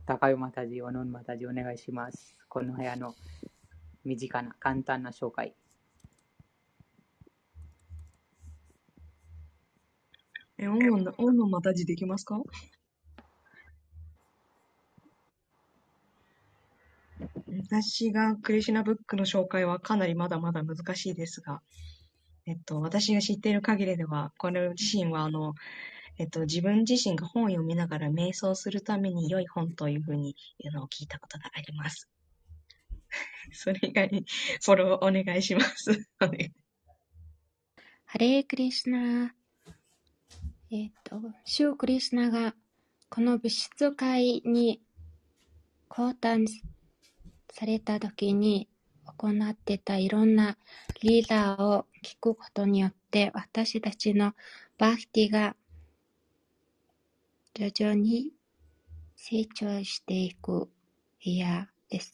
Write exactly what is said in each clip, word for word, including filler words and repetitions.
高湯マタジ、オノンマタジお願いします。この部屋の身近な簡単な紹介。 え、オンの、オンのまた字できますか？私がクリシュナブックの紹介はかなりまだまだ難しいですが、えっと、私が知っている限りでは、これ自身はあの、えっと、自分自身が本を読みながら瞑想するために良い本というふうに言うのを聞いたことがあります。それ以外にフォローお願いします。 ハレークリシュナ。えっと、シュークリシュナがこの物質界に降誕された時に行ってたいろんなリーダーを聞くことによって私たちのバクティが徐々に成長していくイヤーです。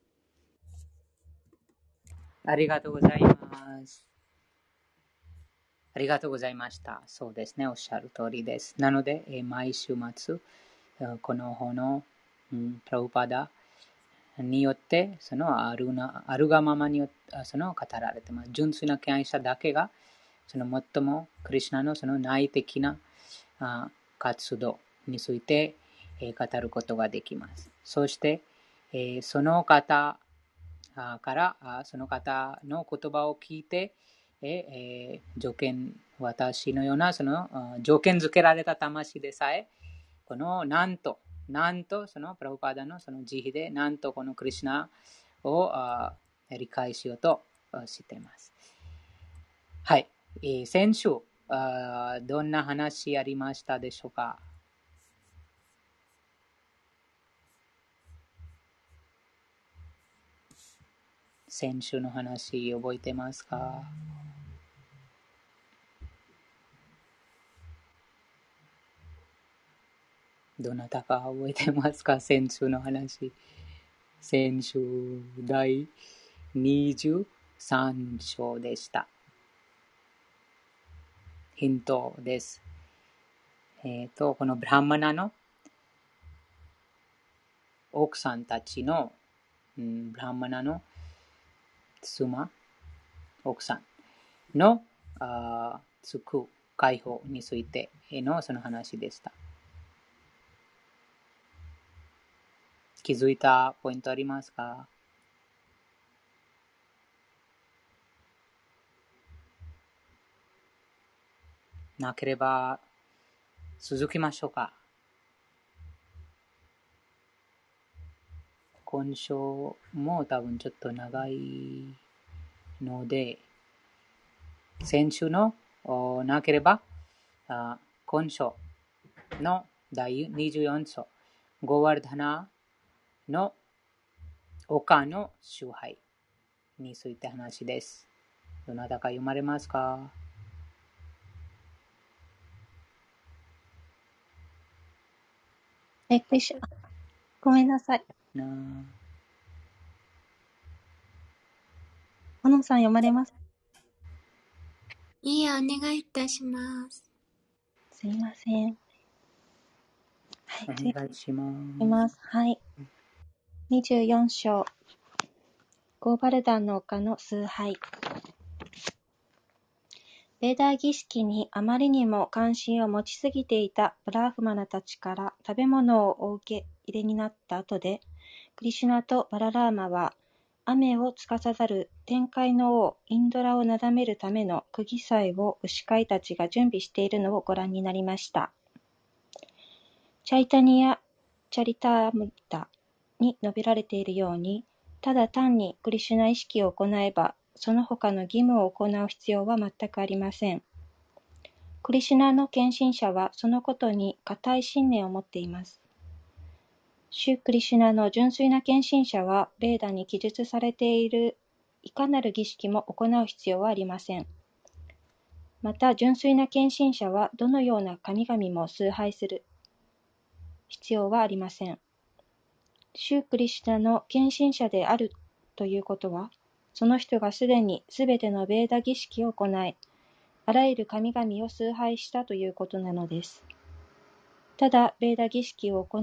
ありがとうございます。ありがとうございました。そうですね、おっしゃる通りです。なので、えー毎週末、この本の、うん、プラブパダによって、そのあるなあるがままによってその語られています。純粋な敬愛者だけが、その最もクリシュナのその内的なあ活動について、えー語ることができます。そして、えーその方あからあその方の言葉を聞いて、えー条件私のようなそのあ条件付けられた魂でさえこのなんとなんとそのプラブパダのその慈悲でなんとこのクリシュナをあ理解しようとしています。はい、えー先週あどんな話ありましたでしょうか？先週の話覚えてますか？どなたか覚えてますか？先週の話。先週第にじゅうさん章でした。ヒントです。えっと、このブラハマナの奥さんたちの、うん、ブラハマナの妻、奥さんのあつく解放についてのその話でした。気づいたポイントありますか？なければ続きましょうか。今章も多分ちょっと長いので、先週のなければ今章のだいにじゅうよん章、ゴワルダナの丘の崇拝について話です。どなたか読まれますか？ え、クリシュ、ごめんなさい。 な小野さん読まれます？ いいや、お願いいたします。 すいません。はい、 お次い願いしまきす。 ます。はい。にじゅうよん章、ゴーバルダンの丘の崇拝。ベーダー儀式にあまりにも関心を持ちすぎていたブラーフマナたちから食べ物をお受け入れになった後で、クリシュナとバララーマは、雨を司る天界の王インドラをなだめるための釘祭を牛飼いたちが準備しているのをご覧になりました。チャイタニア・チャリタームタに述べられているように、ただ単にクリシュナ意識を行えば、その他の義務を行う必要は全くありません。クリシュナの献身者はそのことに固い信念を持っています。シュクリシュナの純粋な献身者は、ベーダに記述されているいかなる儀式も行う必要はありません。また、純粋な献身者はどのような神々も崇拝する必要はありません。シュクリシュナの献身者であるということは、その人がすでにすべてのベーダ儀式を行い、あらゆる神々を崇拝したということなのです。ただ、ベーダ儀式を行い、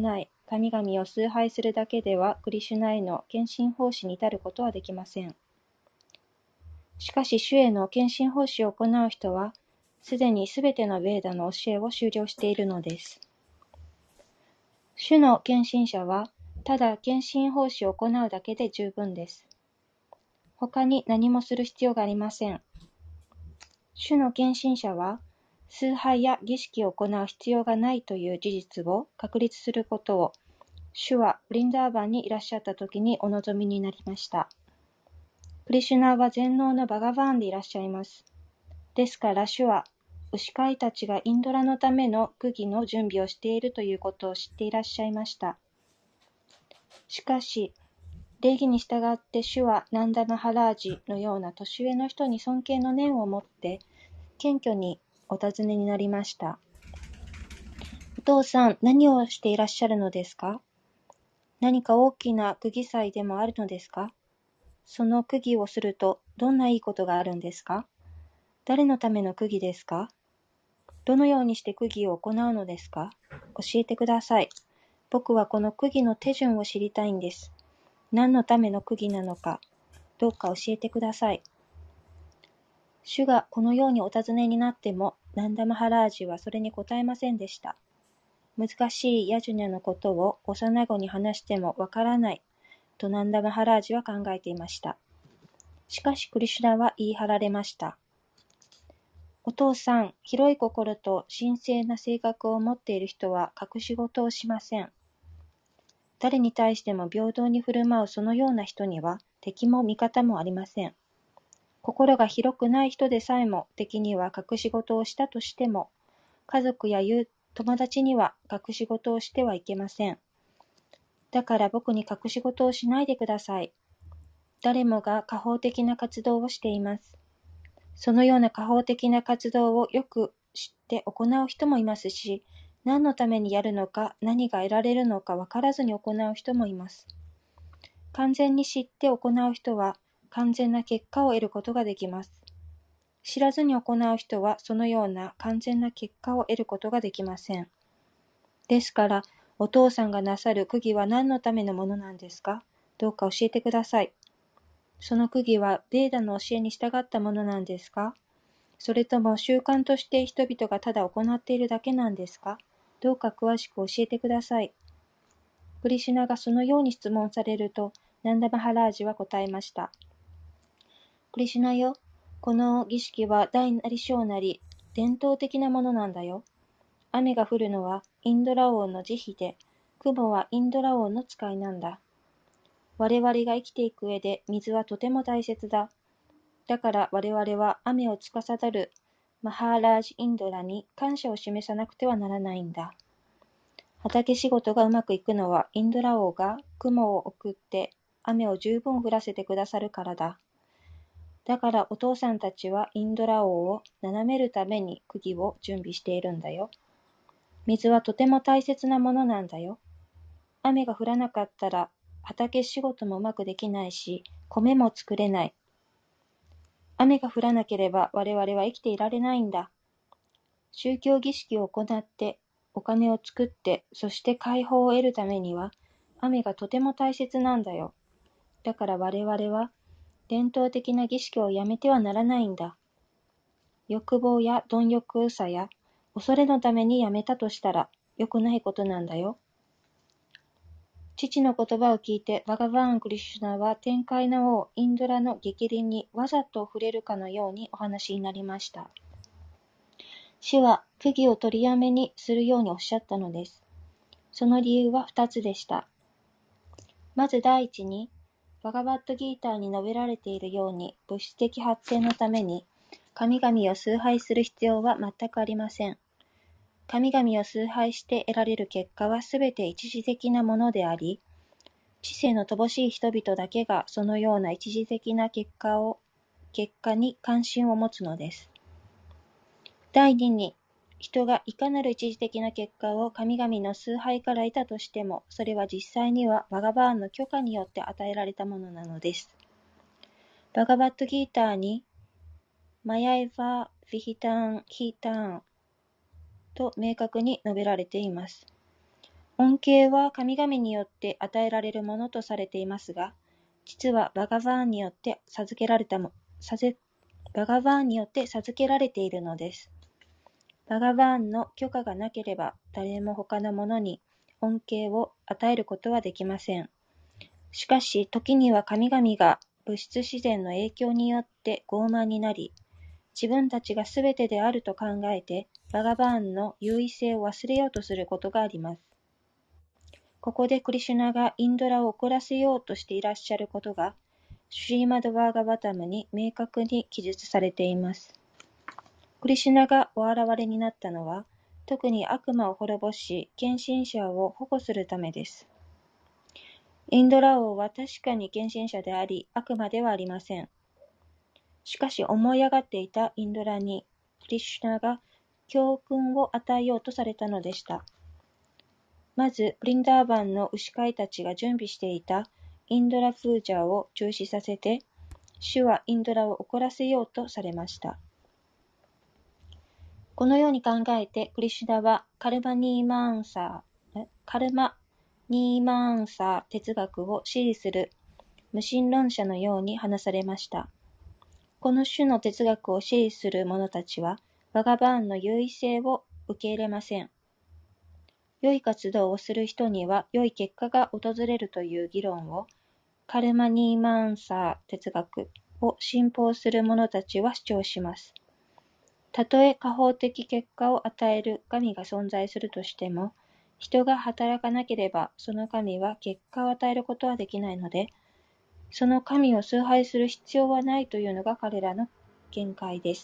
神々を崇拝するだけではクリシュナへの献身奉仕に至ることはできません。しかし主への献身奉仕を行う人は、すでにすべてのヴェーダの教えを修了しているのです。主の献身者は、ただ献身奉仕を行うだけで十分です。他に何もする必要がありません。主の献身者は、崇拝や儀式を行う必要がないという事実を確立することを、主はブリンダーバンにいらっしゃった時にお望みになりました。クリシュナは全能のバガバーンでいらっしゃいます。ですから主は、牛飼いたちがインドラのための釘の準備をしているということを知っていらっしゃいました。しかし、礼儀に従って主はナンダ・マハラージのような年上の人に尊敬の念を持って謙虚にお尋ねになりました。お父さん、何をしていらっしゃるのですか？何か大きな釘祭でもあるのですか？その釘をするとどんないいことがあるんですか？誰のための釘ですか？どのようにして釘を行うのですか？教えてください。僕はこの釘の手順を知りたいんです。何のための釘なのか、どうか教えてください。主がこのようにお尋ねになっても、ナンダ・マハラージはそれに答えませんでした。難しいヤジュニャのことを幼子に話してもわからないとナンダ・マハラージは考えていました。しかしクリシュナは言い張られました。お父さん、広い心と神聖な性格を持っている人は隠し事をしません。誰に対しても平等に振る舞うそのような人には敵も味方もありません。心が広くない人でさえも敵には隠し事をしたとしても、家族や友友達には隠し事をしてはいけません。だから僕に隠し事をしないでください。誰もが果報的な活動をしています。そのような果報的な活動をよく知って行う人もいますし、何のためにやるのか、何が得られるのか分からずに行う人もいます。完全に知って行う人は、完全な結果を得ることができます。知らずに行う人は、そのような完全な結果を得ることができません。ですから、お父さんがなさる釘は何のためのものなんですか？どうか教えてください。その釘は、ベーダの教えに従ったものなんですか？それとも習慣として人々がただ行っているだけなんですか？どうか詳しく教えてください。クリシュナがそのように質問されると、ナンダ・マハラージは答えました。クリシュナよ、この儀式は大なり小なり伝統的なものなんだよ。雨が降るのはインドラ王の慈悲で、雲はインドラ王の使いなんだ。我々が生きていく上で水はとても大切だ。だから我々は雨を司るマハーラージ・インドラに感謝を示さなくてはならないんだ。畑仕事がうまくいくのはインドラ王が雲を送って雨を十分降らせてくださるからだ。だからお父さんたちはインドラ王を斜めるために釘を準備しているんだよ。水はとても大切なものなんだよ。雨が降らなかったら畑仕事もうまくできないし、米も作れない。雨が降らなければ我々は生きていられないんだ。宗教儀式を行って、お金を作って、そして解放を得るためには、雨がとても大切なんだよ。だから我々は、伝統的な儀式をやめてはならないんだ。欲望や貪欲さや、恐れのためにやめたとしたら、良くないことなんだよ。父の言葉を聞いて、バガバーン・クリシュナは天界の王、インドラの逆鱗にわざと触れるかのようにお話になりました。主は釘を取りやめにするようにおっしゃったのです。その理由は二つでした。まず第一に、バガバットギーターに述べられているように、物質的発展のために、神々を崇拝する必要は全くありません。神々を崇拝して得られる結果はすべて一時的なものであり、知性の乏しい人々だけがそのような一時的な結果を、結果に関心を持つのです。第二に、人がいかなる一時的な結果を神々の崇拝から得たとしても、それは実際にはバガバーンの許可によって与えられたものなのです。バガバットギーターに、マヤエヴァ・ヴィヒターン・ヒーターンと明確に述べられています。 恩恵は神々によって与えられるものとされていますが、実はバガバーンによって授けられたも、さぜバガバーンによって授けられているのです。バガバーンの許可がなければ、誰も他のものに恩恵を与えることはできません。しかし、時には神々が物質自然の影響によって傲慢になり、自分たちがすべてであると考えて、バガバーンの優位性を忘れようとすることがあります。ここでクリシュナがインドラを怒らせようとしていらっしゃることが、シュリーマド・バーガバタムに明確に記述されています。クリシュナがお現れになったのは、特に悪魔を滅ぼし、献身者を保護するためです。インドラ王は確かに献身者であり、悪魔ではありません。しかし思い上がっていたインドラに、クリシュナが教訓を与えようとされたのでした。まず、ブリンダーバンの牛飼いたちが準備していたインドラプージャーを中止させて、主はインドラを怒らせようとされました。このように考えて、クリシュナはカルマニーマーンサー、カルマニーマーンサー哲学を支持する無神論者のように話されました。この種の哲学を支持する者たちは、バガバーンの優位性を受け入れません。良い活動をする人には良い結果が訪れるという議論を、カルマニーマンサー哲学を信奉する者たちは主張します。たとえ果報的結果を与える神が存在するとしても、人が働かなければその神は結果を与えることはできないので、その神を崇拝する必要はないというのが彼らの見解です。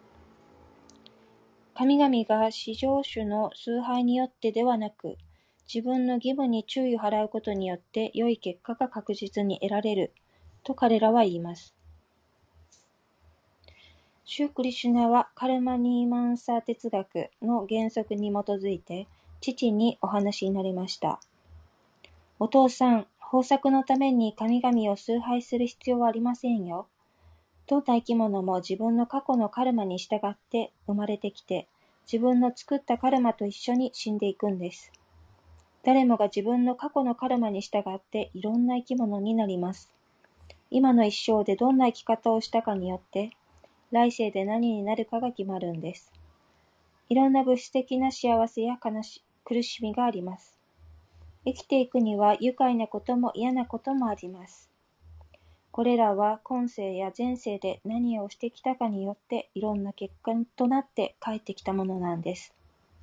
神々が至上主の崇拝によってではなく、自分の義務に注意を払うことによって良い結果が確実に得られると彼らは言います。シュクリシュナはカルマニーマンサー哲学の原則に基づいて父にお話になりました。お父さん、豊作のために神々を崇拝する必要はありませんよ。どんな生き物も自分の過去のカルマに従って生まれてきて、自分の作ったカルマと一緒に死んでいくんです。誰もが自分の過去のカルマに従っていろんな生き物になります。今の一生でどんな生き方をしたかによって、来世で何になるかが決まるんです。いろんな物質的な幸せや悲し苦しみがあります。生きていくには愉快なことも嫌なこともあります。これらは今世や前世で何をしてきたかによっていろんな結果となって帰ってきたものなんです。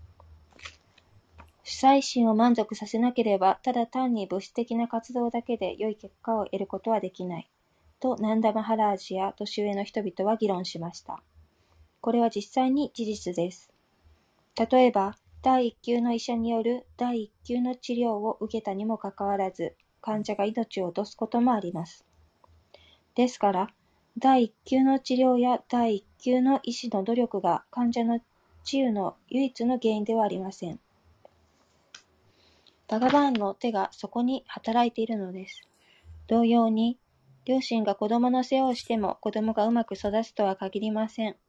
主催心を満足させなければ、ただ単に物質的な活動だけで良い結果を得ることはできない。とナンダ・マハラージや年上の人々は議論しました。これは実際に事実です。例えば、第一級の医者による第一級の治療を受けたにもかかわらず、患者が命を落とすこともあります。ですから、第一級の治療や第一級の医師の努力が患者の治癒の唯一の原因ではありません。バガバーンの手がそこに働いているのです。同様に、両親が子供の世話をしても子供がうまく育つとは限りません。はい、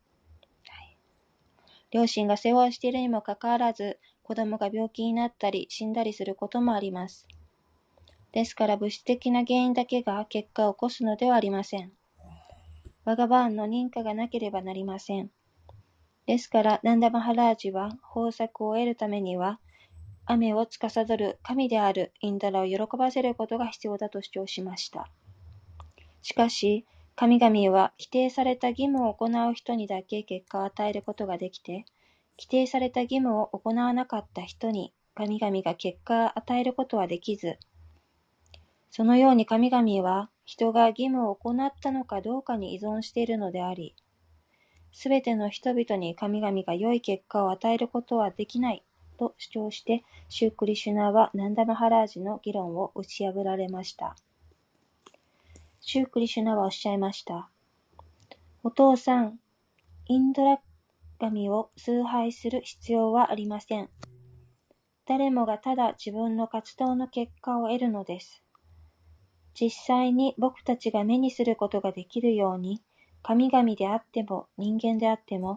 両親が世話をしているにもかかわらず、子供が病気になったり死んだりすることもあります。ですから物質的な原因だけが結果を起こすのではありません。バガバーンの認可がなければなりません。ですからナンダ・マハラージは豊作を得るためには雨を司る神であるインダラを喜ばせることが必要だと主張しました。しかし神々は規定された義務を行う人にだけ結果を与えることができて、規定された義務を行わなかった人に神々が結果を与えることはできず、そのように神々は人が義務を行ったのかどうかに依存しているのであり、すべての人々に神々が良い結果を与えることはできないと主張して、シュークリシュナはナンダ・マハラージの議論を打ち破られました。シュークリシュナはおっしゃいました。お父さん、インドラ神を崇拝する必要はありません。誰もがただ自分の活動の結果を得るのです。実際に僕たちが目にすることができるように、神々であっても人間であっても、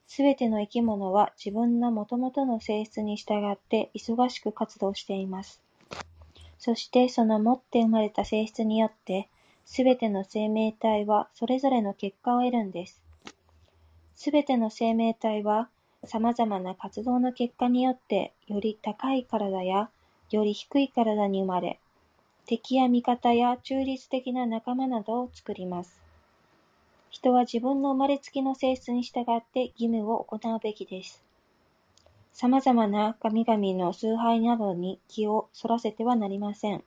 すべての生き物は自分の元々の性質に従って忙しく活動しています。そしてその持って生まれた性質によって、すべての生命体はそれぞれの結果を得るんです。すべての生命体は様々な活動の結果によって、より高い体やより低い体に生まれ、敵や味方や中立的な仲間などを作ります。人は自分の生まれつきの性質に従って義務を行うべきです。様々な神々の崇拝などに気をそらせてはなりません。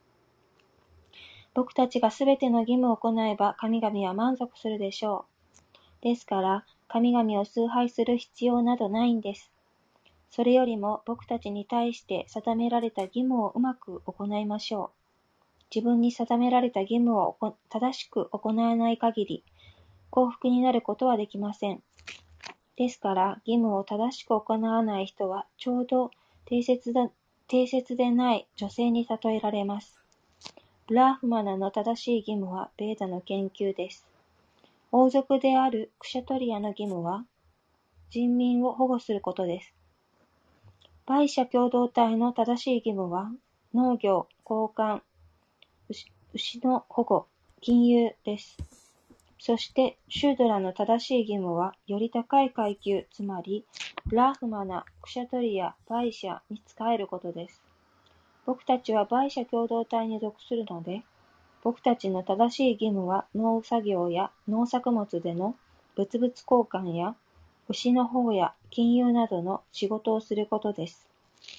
僕たちがすべての義務を行えば神々は満足するでしょう。ですから、神々を崇拝する必要などないんです。それよりも僕たちに対して定められた義務をうまく行いましょう。自分に定められた義務を正しく行わない限り、幸福になることはできません。ですから、義務を正しく行わない人は、ちょうど定説だ、定説でない女性に例えられます。ブラーフマナの正しい義務は、ベーダの研究です。王族であるクシャトリアの義務は、人民を保護することです。バイシャ共同体の正しい義務は、農業、交換、牛、牛の保護、金融です。そして、シュードラの正しい義務は、より高い階級、つまり、ブラーフマナ、クシャトリア、バイシャに仕えることです。僕たちはバイシャ共同体に属するので、僕たちの正しい義務は農作業や農作物での物々交換や牛の保護や金融などの仕事をすることです。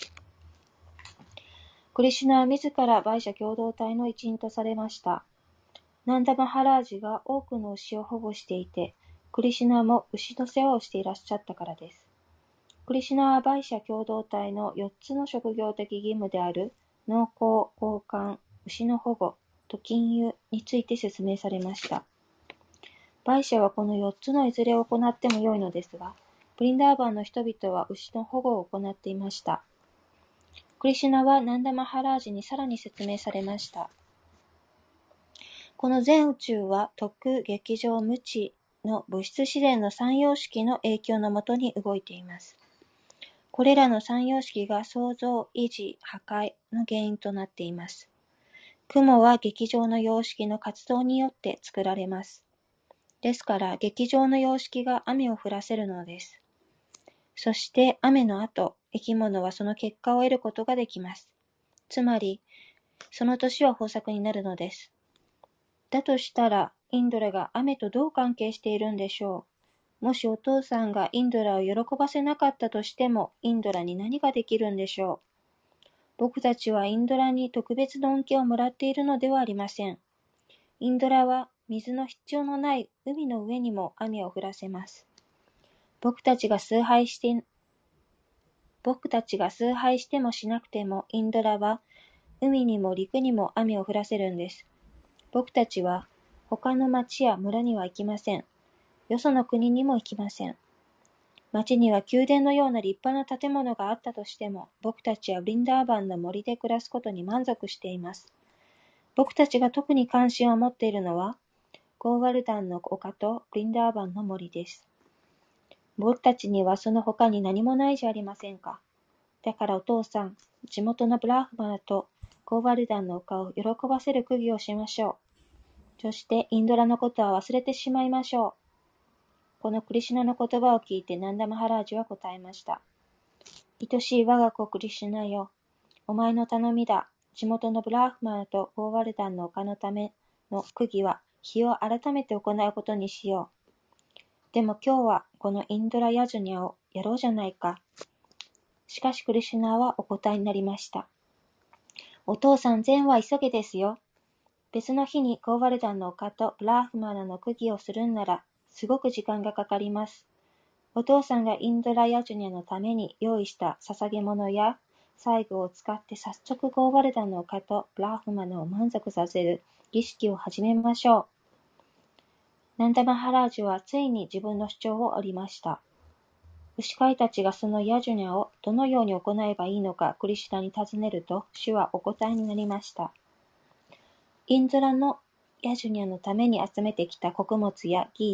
クリシュナは自らバイシャ共同体の一員とされました。ナンダ・マハラージが多くの牛を保護していて、クリシュナも牛の世話をしていらっしゃったからです。クリシュナはバイシャ共同体のよっつの職業的義務である農耕、交換、牛の保護と金融について説明されました。バイシャはこのよっつのいずれを行ってもよいのですが、ブリンダーバンの人々は牛の保護を行っていました。クリシュナはナンダ・マハラージにさらに説明されました。この全宇宙は特劇場無知の物質自然の三様式の影響のもとに動いています。これらの三様式が創造、維持、破壊の原因となっています。雲は劇場の様式の活動によって作られます。ですから、劇場の様式が雨を降らせるのです。そして雨の後、生き物はその結果を得ることができます。つまり、その年は豊作になるのです。だとしたら、インドラが雨とどう関係しているんでしょう。もしお父さんがインドラを喜ばせなかったとしても、インドラに何ができるんでしょう。僕たちはインドラに特別の恩恵をもらっているのではありません。インドラは水の必要のない海の上にも雨を降らせます。僕たちが崇拝して、僕たちが崇拝してもしなくても、インドラは海にも陸にも雨を降らせるんです。僕たちは他の町や村には行きません。よその国にも行きません。町には宮殿のような立派な建物があったとしても、僕たちはブリンダーバンの森で暮らすことに満足しています。僕たちが特に関心を持っているのは、ゴーワルダンの丘とブリンダーバンの森です。僕たちにはその他に何もないじゃありませんか。だからお父さん、地元のブラーフマナとゴーワルダンの丘を喜ばせる釘をしましょう。そしてインドラのことは忘れてしまいましょう。このクリシュナの言葉を聞いてナンダ・マハラージは答えました。愛しい我が子クリシュナよ。お前の頼みだ。地元のブラーフマナとゴーワルダンの丘のための釘は日を改めて行うことにしよう。でも今日はこのインドラ・ヤジュニャをやろうじゃないか。しかしクリシュナはお答えになりました。お父さん、善は急げですよ。別の日にゴーワルダンの丘とブラーフマナの釘をするんなら、すごく時間がかかります。お父さんがインドラ・ヤジュニャのために用意した捧げ物や細具を使って早速ゴーワルダンの丘とブラーフマナを満足させる儀式を始めましょう。ナンダ・マハラージュはついに自分の主張を折りました。牛飼いたちがそのヤジュニャをどのように行えばいいのかクリシュナに尋ねると、主はお答えになりました。インドラのヤジュニャのために集めてきた穀物やギーで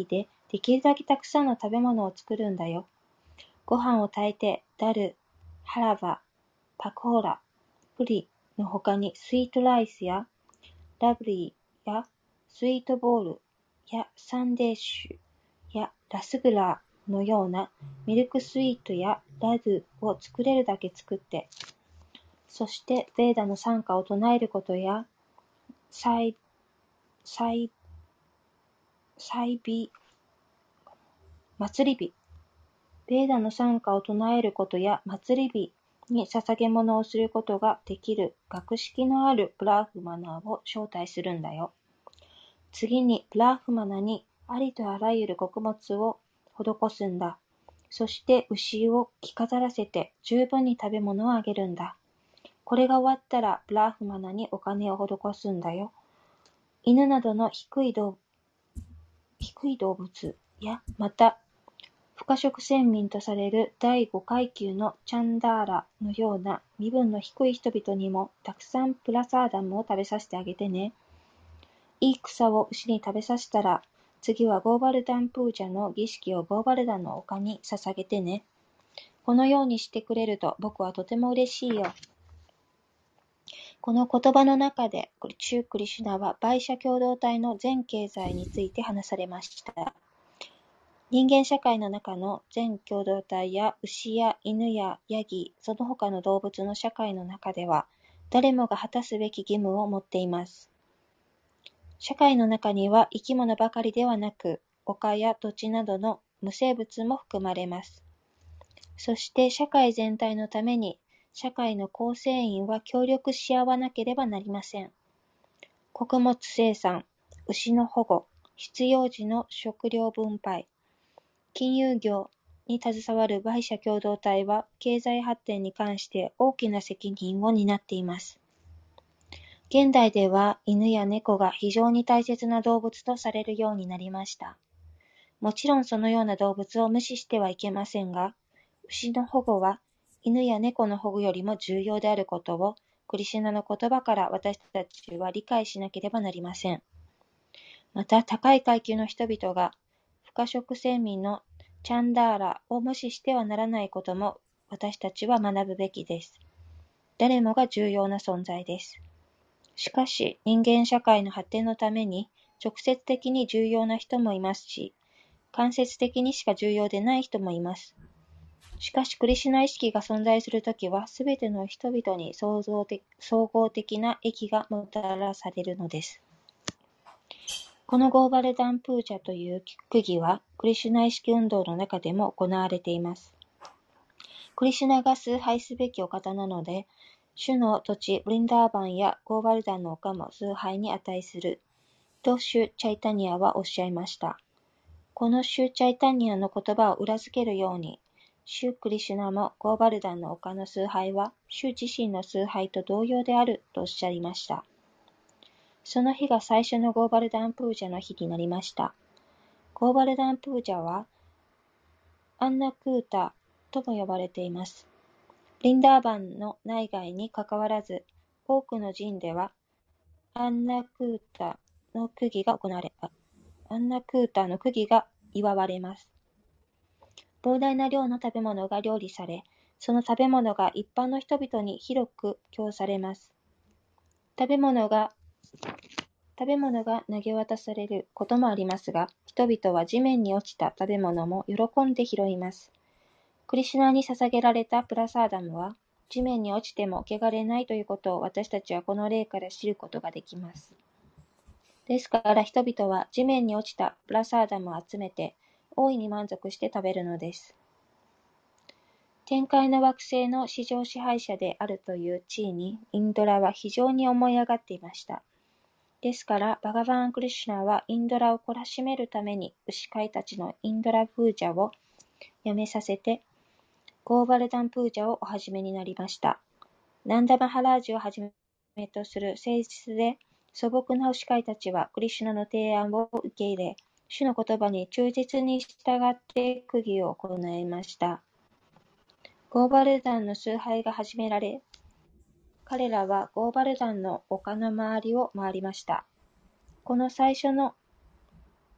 できるだけたくさんの食べ物を作るんだよ。ご飯を炊いて、ダル、ハラバ、パコーラ、プリの他にスイートライスやラブリーやスイートボールやサンデーシュやラスグラーのようなミルクスイートやラドゥを作れるだけ作って、そしてベーダの賛歌を唱えることやサイ、サイ、サイビ、祭り日、ベーダの賛歌を唱えることや祭り日に捧げ物をすることができる学識のあるブラーフマナーを招待するんだよ。次にブラーフマナにありとあらゆる穀物を施すんだ。そして牛を着飾らせて十分に食べ物をあげるんだ。これが終わったらブラーフマナにお金を施すんだよ。犬などの低い動低い動物やまた不可食先民とされる第五階級のチャンダーラのような身分の低い人々にもたくさんプラサーダムを食べさせてあげてね。いい草を牛に食べさせたら、次はゴーバルダンプージャの儀式をゴーバルダンの丘に捧げてね。このようにしてくれると僕はとても嬉しいよ。この言葉の中で、シュークリシュナはバイシャ共同体の全経済について話されました。人間社会の中の全共同体や牛や犬やヤギ、その他の動物の社会の中では、誰もが果たすべき義務を持っています。社会の中には生き物ばかりではなく、丘や土地などの無生物も含まれます。そして社会全体のために、社会の構成員は協力し合わなければなりません。穀物生産、牛の保護、必要時の食料分配、金融業に携わるバイシャ共同体は経済発展に関して大きな責任を担っています。現代では犬や猫が非常に大切な動物とされるようになりました。もちろんそのような動物を無視してはいけませんが、牛の保護は犬や猫の保護よりも重要であることをクリシュナの言葉から私たちは理解しなければなりません。また高い階級の人々が不可食先民のチャンダーラを無視してはならないことも私たちは学ぶべきです。誰もが重要な存在です。しかし人間社会の発展のために直接的に重要な人もいますし、間接的にしか重要でない人もいます。しかしクリシュナ意識が存在するときはすべての人々に創造的、総合的な益がもたらされるのです。このゴーバルダンプージャという区議はクリシュナ意識運動の中でも行われています。クリシュナが崇拝すべきお方なので、主の土地ブリンダーバンやゴーバルダンの丘も崇拝に値するとシュ・チャイタニアはおっしゃいました。このシュ・チャイタニアの言葉を裏付けるように、シュ・クリシュナもゴーバルダンの丘の崇拝は主自身の崇拝と同様であるとおっしゃいました。その日が最初のゴーバルダンプージャの日になりました。ゴーバルダンプージャはアンナクータとも呼ばれています。リンダーバンの内外にかかわらず、多くの寺ではアンナクータの区議が行われ、アンナクータの区議が祝われます。膨大な量の食べ物が料理され、その食べ物が一般の人々に広く供されます。食べ物が食べ物が投げ渡されることもありますが、人々は地面に落ちた食べ物も喜んで拾います。クリシュナに捧げられたプラサーダムは、地面に落ちても汚れないということを私たちはこの例から知ることができます。ですから人々は地面に落ちたプラサーダムを集めて、大いに満足して食べるのです。天界の惑星の至上支配者であるという地位にインドラは非常に思い上がっていました。ですから、バガバーン・クリシュナはインドラを懲らしめるために牛飼いたちのインドラプージャをやめさせて、ゴーバルダンプージャをお始めになりました。ナンダマハラージをはじめとする誠実で素朴な牛飼いたちはクリシュナの提案を受け入れ、主の言葉に忠実に従って区議を行いました。ゴーバルダンの崇拝が始められ、彼らはゴーバルダンの丘の周りを回りました。この最初の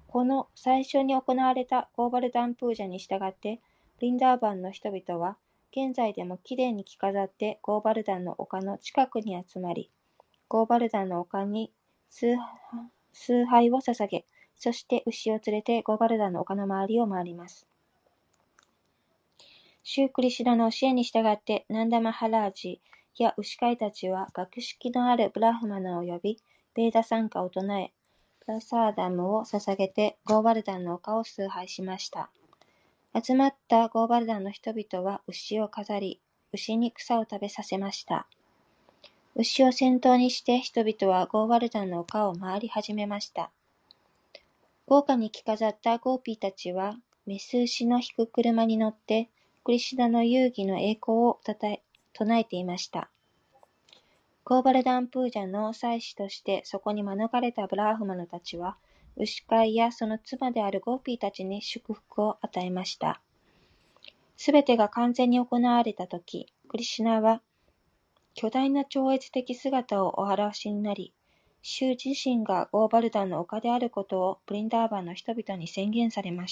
この最初に行われたゴーバルダンプージャに従って、ブリンダーバンの人々は、現在でもきれいに着飾ってゴーバルダンの丘の近くに集まり、ゴーバルダンの丘に崇崇拝を捧げ、そして牛を連れてゴーバルダンの丘の周りを回ります。シュークリシュナの教えに従って、ナンダマハラージや牛飼いたちは学識のあるブラフマナを呼び、ベーダ参加を唱え、プラサーダムを捧げてゴーバルダンの丘を崇拝しました。集まったゴーバルダンの人々は牛を飾り、牛に草を食べさせました。牛を先頭にして人々はゴーバルダンの丘を回り始めました。豪華に着飾ったゴーピーたちは、メス牛の引く車に乗って、クリシュナの遊戯の栄光をたたえ唱えていました。ゴーバルダンプージャの祭司としてそこに招かれたブラーフマナたちは、牛飼いやその妻であるゴーピーたちに祝福を与えました。すべてが完全に行われたとき、クリシュナは巨大な超越的姿をお表しになり、主自身がゴーバルダンの丘であることをブリンダーバンの人々に宣言されました。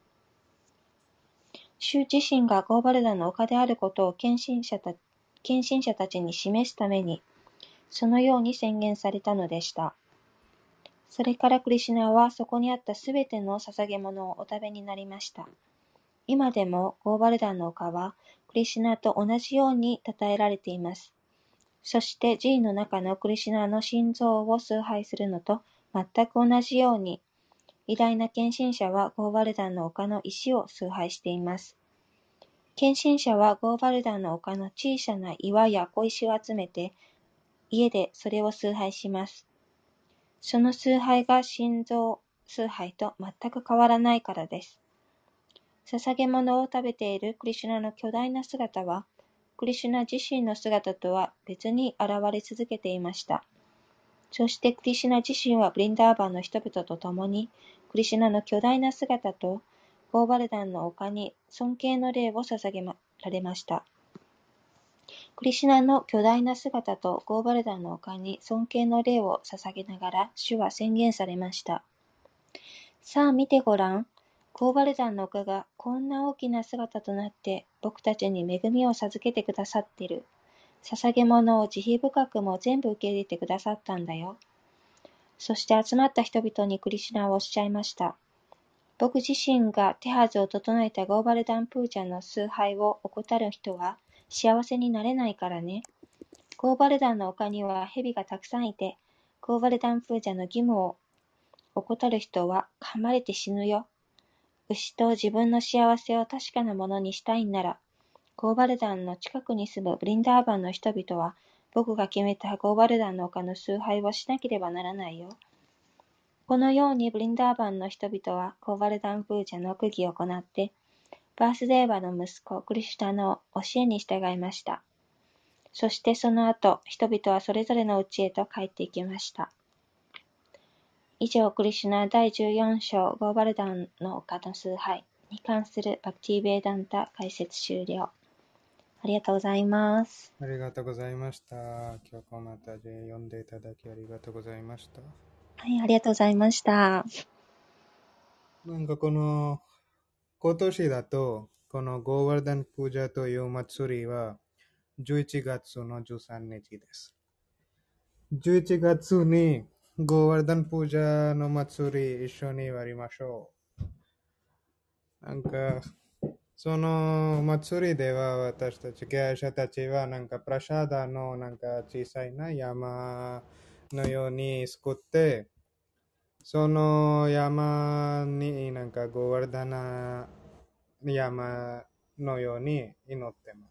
主自身がゴーバルダンの丘であることを献身者た献身者たちに示すために、そのように宣言されたのでした。それからクリシュナはそこにあったすべての捧げ物をお食べになりました。今でもゴーバルダンの丘はクリシュナと同じように称えられています。そして寺院の中のクリシュナの心臓を崇拝するのと全く同じように、偉大な献身者はゴーバルダンの丘の石を崇拝しています。献身者はゴーバルダンの丘の小さな岩や小石を集めて、家でそれを崇拝します。その崇拝が心臓崇拝と全く変わらないからです。捧げ物を食べているクリシュナの巨大な姿は、クリシュナ自身の姿とは別に現れ続けていました。そしてクリシュナ自身はブリンダーバンの人々と共に、クリシュナの巨大な姿とゴーバルダンの丘に尊敬の礼を捧げられました。クリシュナの巨大な姿とゴーバルダンの丘に尊敬の礼を捧げながら、主は宣言されました。さあ見てごらん。ゴーバルダンの丘がこんな大きな姿となって僕たちに恵みを授けてくださっている。捧げ物を慈悲深くも全部受け入れてくださったんだよ。そして集まった人々にクリシュナはおっしゃいました。僕自身が手はずを整えたゴーバルダンプージャの崇拝を怠る人は幸せになれないからね。ゴーバルダンの丘には蛇がたくさんいて、ゴーバルダンプージャの義務を怠る人は噛まれて死ぬよ。牛と自分の幸せを確かなものにしたいんなら、ゴーバルダンの近くに住むブリンダーバンの人々は、僕が決めたゴーバルダンの丘の崇拝をしなければならないよ。このようにブリンダーバンの人々はゴーバルダンプージャの区議を行って、バースデーバの息子クリシュナの教えに従いました。そしてその後、人々はそれぞれの家へと帰っていきました。以上、クリシュナだいじゅうよん章ゴーバルダンの丘の崇拝に関するバクティ・ベーダンタ解説終了。ありがとうございます。 ありがとうございました。今日もまた読んでいただきありがとうございました。 はい、ありがとうございました。 なんかこの今年だとこのゴーバルダンプージャという祭りはじゅういちがつのじゅうさんにちです。じゅういちがつにゴーバルダンプージャの祭り一緒にやりましょう。なんかその祭りでは私たち経営者たちはなんかプラシャーダのなんか小さいな山のように作って、その山になんかゴーバルダナ山のように祈ってます。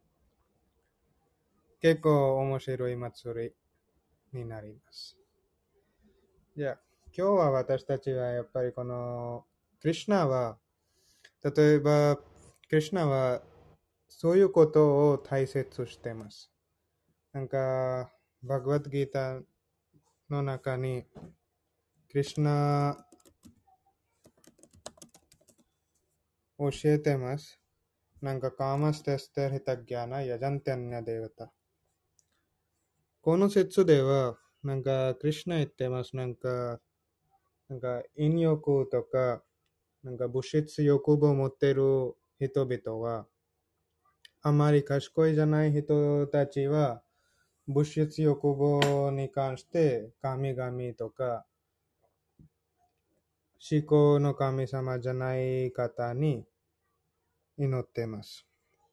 結構面白い祭りになります。じゃあ今日は私たちはやっぱりこのクリシュナは例えばクリシュナはそういうことを大切しています。なんかバグワッドギータの中にクリシュナ教えてます。なんかカーマステステルヒタギャナヤジャンテンニャデーヴタ。この説ではなんかクリシュナ言ってます。なんかなんか陰欲とか、なんか物質欲望を持っている人々は、あまり賢いじゃない人たちは、物質欲望に関して神々とか思考の神様じゃない方に祈っています。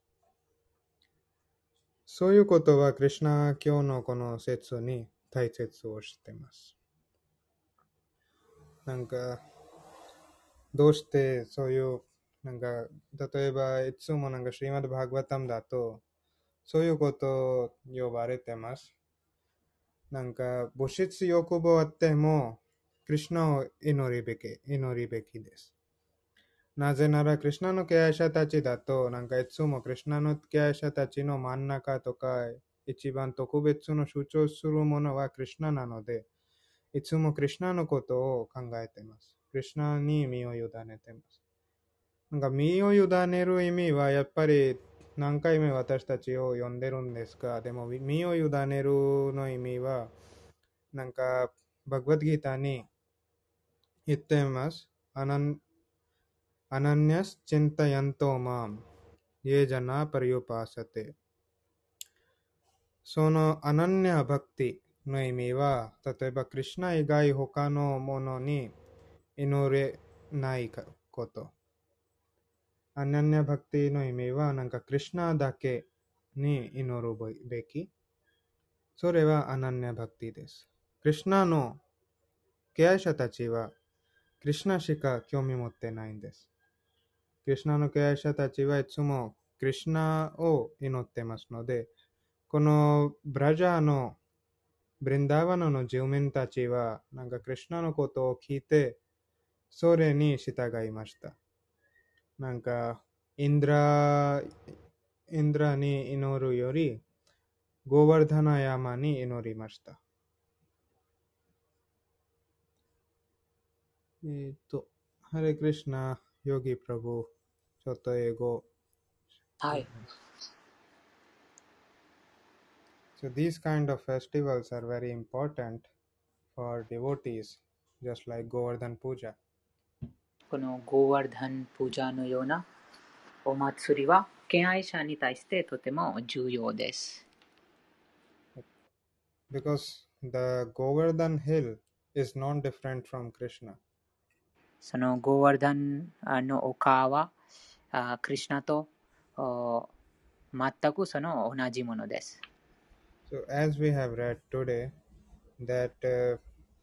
そういうことはクリシュナ教のこの説に大切をしています。なんかどうしてそういうなんか例えばいつもなんかシリマッド・バーガバタムだとそういうことを呼ばれてます。なんか物質欲望あってもクリシュナを祈るべき、祈るべきです。なぜならクリシュナの敬愛者たちだとなんかいつもクリシュナの敬愛者たちの真ん中とか一番特別の主張するものはクリシュナなので、いつもクリシュナのことを考えています。クリシュナに身を委ねています。なんか身を委ねる意味はやっぱり何回も私たちを呼んでるんですが、でも身を委ねるの意味はなんかバグワッドギーターに言っています。アナンアナニャスチンタヤントマンイェジャナパリヨパーサテ。そのアナニャバクティの意味は、例えばクリシュナ以外他のものに祈れないこと。アナニャバクティの意味は、なんかクリシュナだけに祈るべき。それはアナニャバクティです。クリシュナの敬愛者たちは、クリシュナしか興味持ってないんです。クリシュナの敬愛者たちはいつもクリシュナを祈ってますので、このブラジャーのブリンダーバナの住民たちは、なんかクリシュナのことを聞いて、それに従いました。なんか、インドラ、インドラに祈るより、ゴーワルダナ山に祈りました。えっと、ハレクリシュナ、ヨギプラブ、ちょっと英語。 はい。 So these kind of festivals are very important for devotees, just like Govardhan Puja. このゴーワルダンプージャーのようなお祭りは敬愛者に対してとても重要です。 Because the Govardhan hill is not different from Krishna. そのゴーワルダンの丘はクリシュナと全くその同じものです。 So as we have read today, that uh,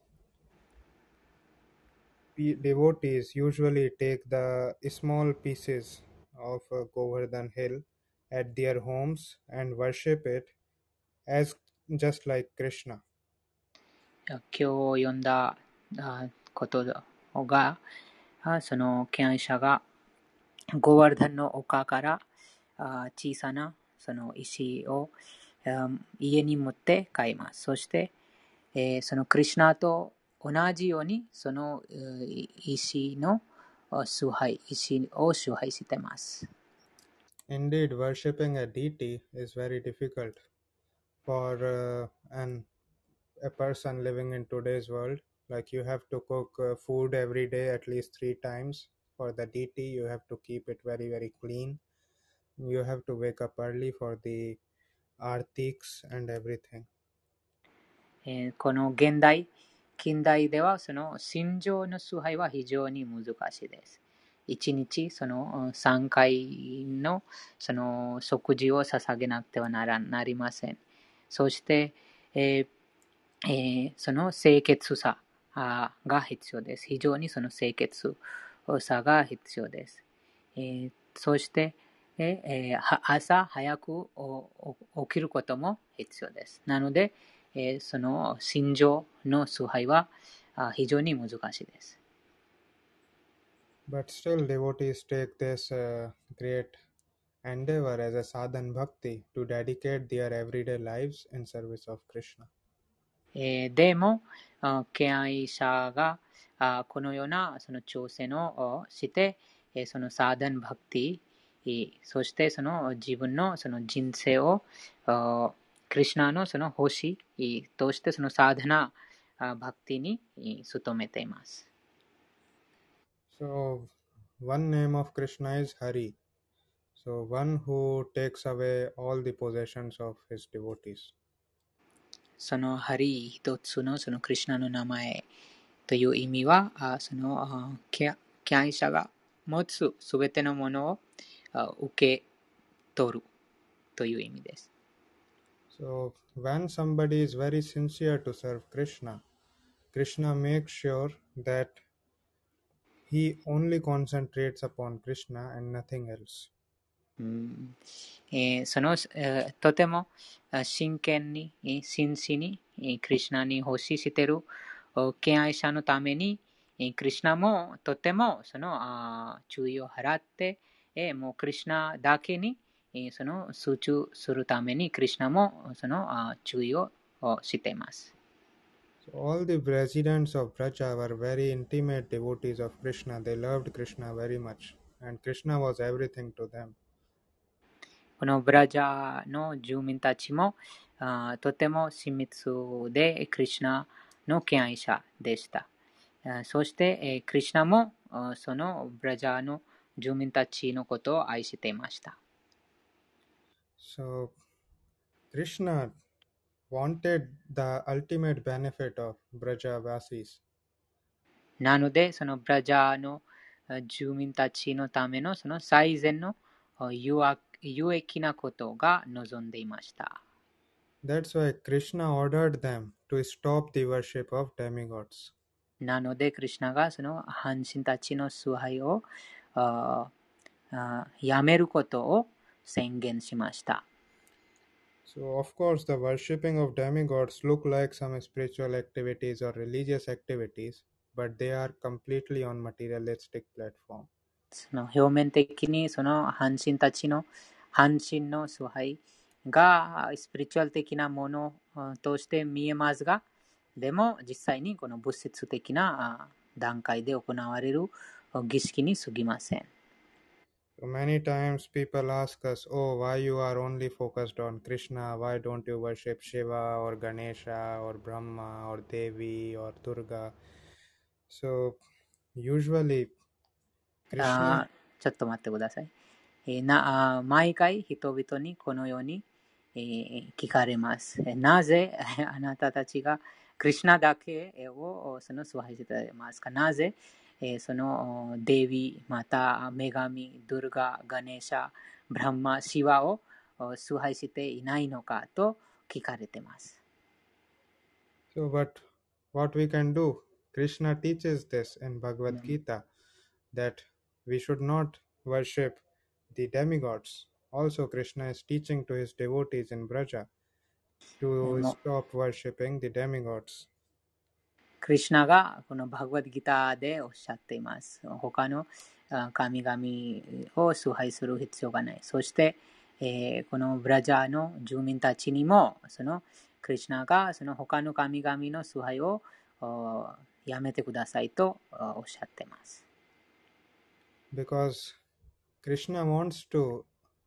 devotees usually take the small pieces of uh, Govardhan hill at their homes and worship it as just like Krishna. 今日読んだことが、その敬愛者がゴーワルダンの丘から小さなその石を家に持って帰ります。そして、えー、そのクリシュナと同じようにその石の崇拝、石を崇拝しています。 Indeed, worshipping a deity is very difficult for uh, an a person living in today's world. Like you have to cook uh, food every day at least three times for the deity. You have to keep it very very clean. You have to wake up early for the artiks and everything. えー、この現代、近代ではその心情の崇拝は非常に難しいです。一日そのさんかいのその食事を捧げなくてはならなりません。そして、えーえー、その清潔さが必要です。非常にその清潔さが必要です。えー、そして、えー、朝早く起きることも必要です。なので、えー、その心情の崇拝は非常に難しいです。 But still, devotees take this uh, great endeavor as a sadhan bhakti to dedicate their everyday lives in service of Krishna. えー、でも、敬愛者がこのようなその挑戦をして、そのサーダンバクティ、そしてその自分のその人生をクリシュナのその星としてそのサーダナバクティに努めています。 So, one name of Krishna is Hari. So, one who takes away all the possessions of his devotees. そのハリー一つのそのクリシュナの名前という意味は、あそのあ敬敬愛者が持つすべてのものをあ受け取るという意味です。 So, when somebody is very sincere to serve Krishna, Krishna makes sure that he only concentrates upon Krishna and nothing else. うんえーその、えーとてもあ真剣に、えー真摯に、えークリシュナに奉仕しているお敬愛者のために、えークリシュナもとてもそのあー注意を払って、えーもうクリシュナだけに、えーその集中するためにクリシュナもそのあー注意をおしています。 So, all the residents of Braja were very intimate devotees of Krishna. They loved Krishna very much, and Krishna was everything to them. このブラジャーの住民たちもあーとても親密でクリシュナの敬愛者でした。あーそして、えークリシュナもあーそのブラジャーの住民たちのことを愛していました。 So, Krishna wanted the ultimate benefit of Brajavasis. なので、そのブラジャーのあ住民たちのためのその最善のあ有益有益なことが望んでいました。 That's why Krishna ordered them to stop the worship of demigods. なので、クリシュナがその半身たちの崇拝をあーあーやめることを宣言しました。 So, of course, the worshipping of demigods look like some spiritual activities or religious activities, but they are completely on materialistic platform. その表面的にその半身たちの半身の崇拝がスピリチュアル的なものあとして見えますが、でも実際にこの物質的なあ段階で行われる儀式に過ぎません。 So many times people ask us, oh, why you are only focused on Krishna? Why don't you worship Shiva or Ganesha or Brahma or Devi or Durga? So usually あ Krishna, ちょっと待ってください。えーなあ毎回人々にこのように、えー聞かれます。えーなぜあなたたちがクリシュナだけをその崇拝していますか？なぜ、えーそのデービー、また女神、ドゥルガ、ガネーシャ、ブランマ、シワをお崇拝していないのかと聞かれています。 so but what we can do? Krishna teaches this in う Bhagavad ん Gita that we should not worship the demigods. Also, Krishna is teaching to his devotees in Braja えー to もう stop worshipping the demigods. クリシュナがこのバグワッドギターでおっしゃっています。他のあ神々を崇拝する必要がない。そして、えーこのブラジャーの住民たちにも、そのクリシュナがその他の神々の崇拝をおやめてくださいとおおっしゃっています。 Because Krishna wants to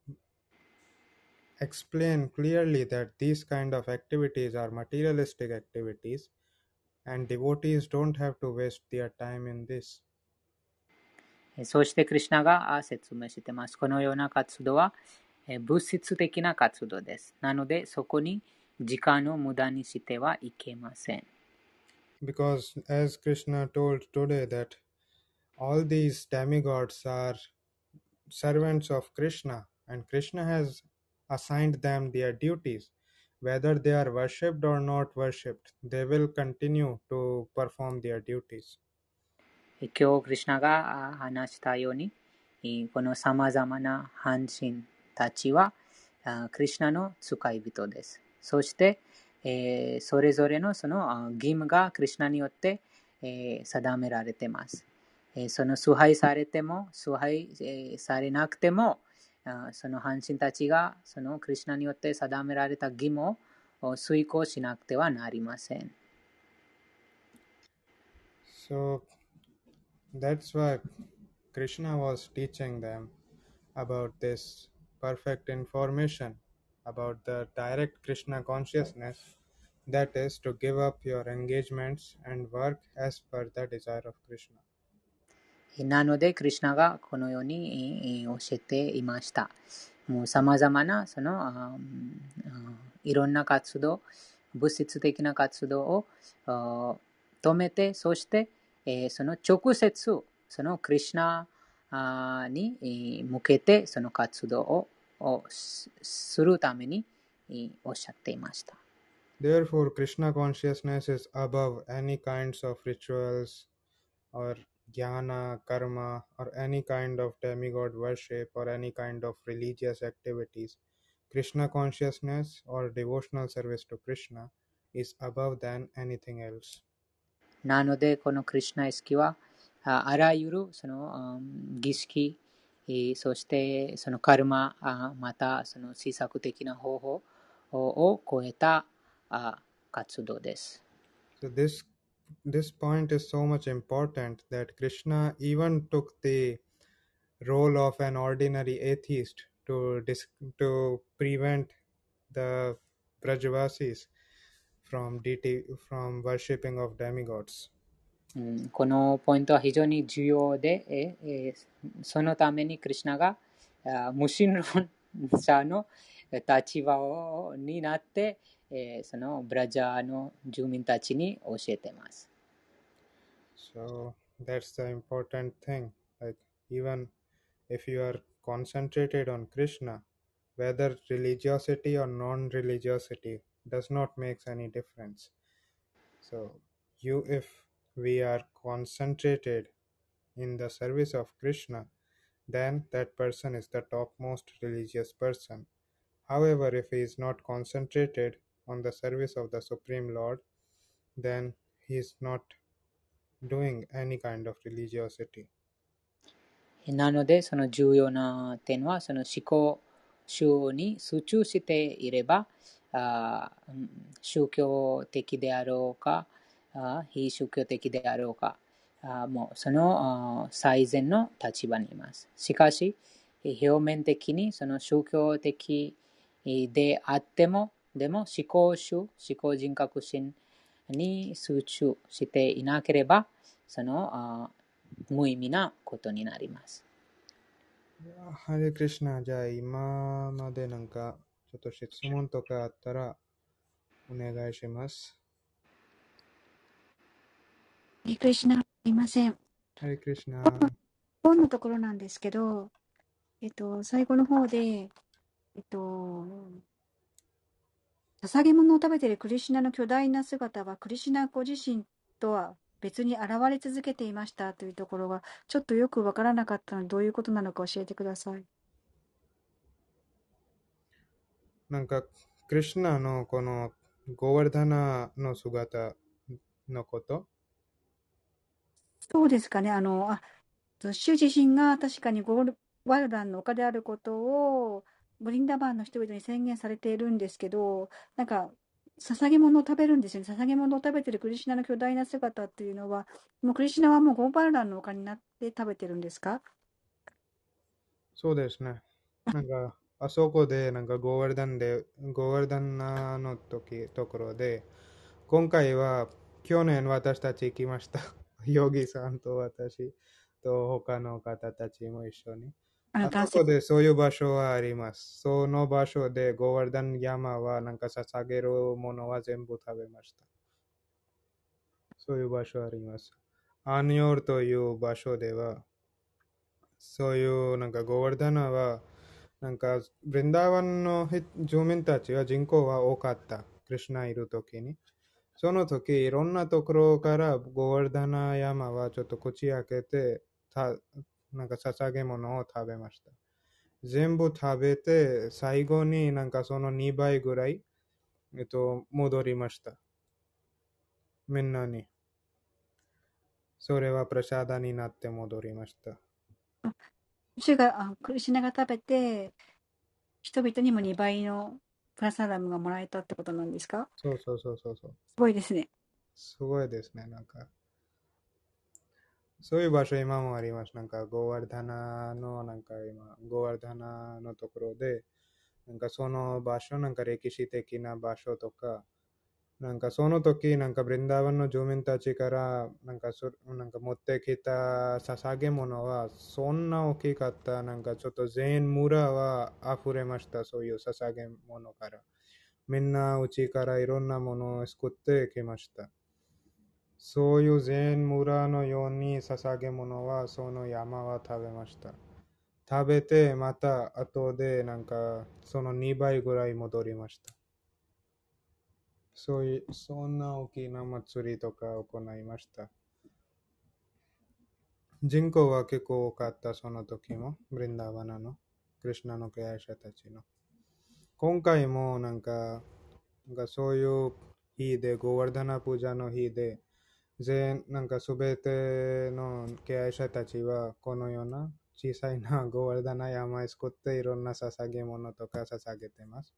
explain clearly that these kind of activities are materialistic activities and devotees don't have to waste their time in this. えーそうしてクリシュナがあ説明しています。このような活動はえー物質的な活動です。なので、そこに時間を無駄にしてはいけません。 Because as Krishna told today that all these demigods are servants of Krishna and Krishna has assigned them their duties. Whether they are worshipped or not worshipped, they will continue to perform their duties. え今日、クリシュナがあ話したように、えーこの様々な半身たちは、あクリシュナの使い人です。そして、えーそれぞれのそのあ義務がクリシュナによって、えー定められています。えーその崇拝されても、崇拝、えーされなくても、あその半身たちがそのクリシュナによって定められた義務をお遂行しなくてはなりません。 So that's why Krishna was teaching them about this perfect information about the direct Krishna consciousness, that is, to give up your engagements and work as per the desire of Krishna. なので、クリシュナがこのように教えていました。もう様々な、その、あいろんな活動、物質的な活動を止めて、そして、えー、その直接、そのクリシュナに向けて、その活動をするためにおっしゃっていました。 Therefore, Krishna consciousness is above any kinds of rituals or jnana, karma, or any kind of demigod worship or any kind of religious activities. Krishna consciousness or devotional service to Krishna is above than anything else. なので、このクリシュナ意識は、あ, あらゆるその、um, 儀式、そしてそのカルマ、またその施策的な方法を超えた活動です。 So this this point is so much important that Krishna even took the role of an ordinary atheist to dis- to prevent the Brajavasis from deity from worshipping of demigods. うん、このポイントは非常に重要で、ええそのためにクリシュナが無神論者の立場をになって、えそのブラジャーの住民たちに教えています。 So that's the important thing. Like even if you are concentrated on Krishna, whether religiosity or non-religiosity does not make any difference. So you, if we are concentrated in the service of Krishna, then that person is the topmost religious person. However, if he is not concentrated on the service of the Supreme Lord, then he is not doing any kind of religiosity. なので、その重要な点は、その思考集に集中していれば、あ宗教的であろうか、あ非宗教的であろうか、あもうその最善の立場にいます。しかし、表面的にその宗教的であっても、でも思考集、思考人格心に集中していなければ、その無意味なことになります。 ハレクリシナ、じゃあ今までなんかちょっと質問とかあったらお願いします。 ハレクリシナ、すいません。 ハレクリシナ。 本のところなんですけど、えっと、最後の方で、えっと、捧げ物を食べているクリシュナの巨大な姿は、クリシュナご自身とは別に現れ続けていましたというところが、ちょっとよくわからなかったので、どういうことなのか教えてください。 なんか、クリシュナのこのゴワルダナの姿のことそうですかね。あの、あ、主自身が確かにゴールワルダンの丘であることを、ブリンダバーンの人々に宣言されているんですけど、なんか、捧げ物を食べるんですよね。捧げ物を食べているクリシュナの巨大な姿っていうのは、もうクリシュナはもうゴーバルダンの丘になって食べてるんですか？ そうですね。なんか、あそこで、なんかゴーワルダンで、ゴーワルダンの時、ところで、今回は、去年私たち行きました。ヨギさんと私と他の方たちも一緒に。あそこでそういう場所はあります。その場所でゴーワルダン山はなんか捧げるものは全部食べました。そういう場所あります。アンヨールという場所では、そういうなんかゴーワルダナは、なんかブリンダーワンの住民たちは人口は多かった。クリシュナいるときに。その時、いろんなところからゴーワルダナ山はちょっと口開けて、たなんか捧げ物を食べました。全部食べて、最後になんかそのにばいぐらい、えっと、戻りました。みんなに。それはプラシャダになって戻りました。 主が、あ、クリシュナが食べて、人々にもにばいのプラサダムがもらえたってことなんですか？ そうそうそうそうそう。 すごいですね。 すごいですね。なんか、そういう場所今もあります。なんか、ゴーワルダナの、なんか今、ゴーワルダナのところで、なんかその場所、なんか歴史的な場所とか、 なんかその時、なんかブリンダーバンの住民たちから、なんかそなんか持ってきた捧げ物は、そんな大きかった。なんかちょっと全村は溢れました。そういう捧げ物から。みんなうちからいろんなものを作ってきました。そういう全村のように捧げ物は、その山は食べました。食べて、また後でなんかそのにばいぐらい戻りました。そういう、そんな大きな祭りとか行いました。人口は結構多かった、その時も、ブリンダーバナの、クリシュナの敬愛者たちの。今回もなんか、なんかそういう日で、ゴワルダナプージャの日で、全、なんかすべての敬愛者たちは、このような小さいなゴワルダナ山を作っていろんな捧げ物とか捧げてます。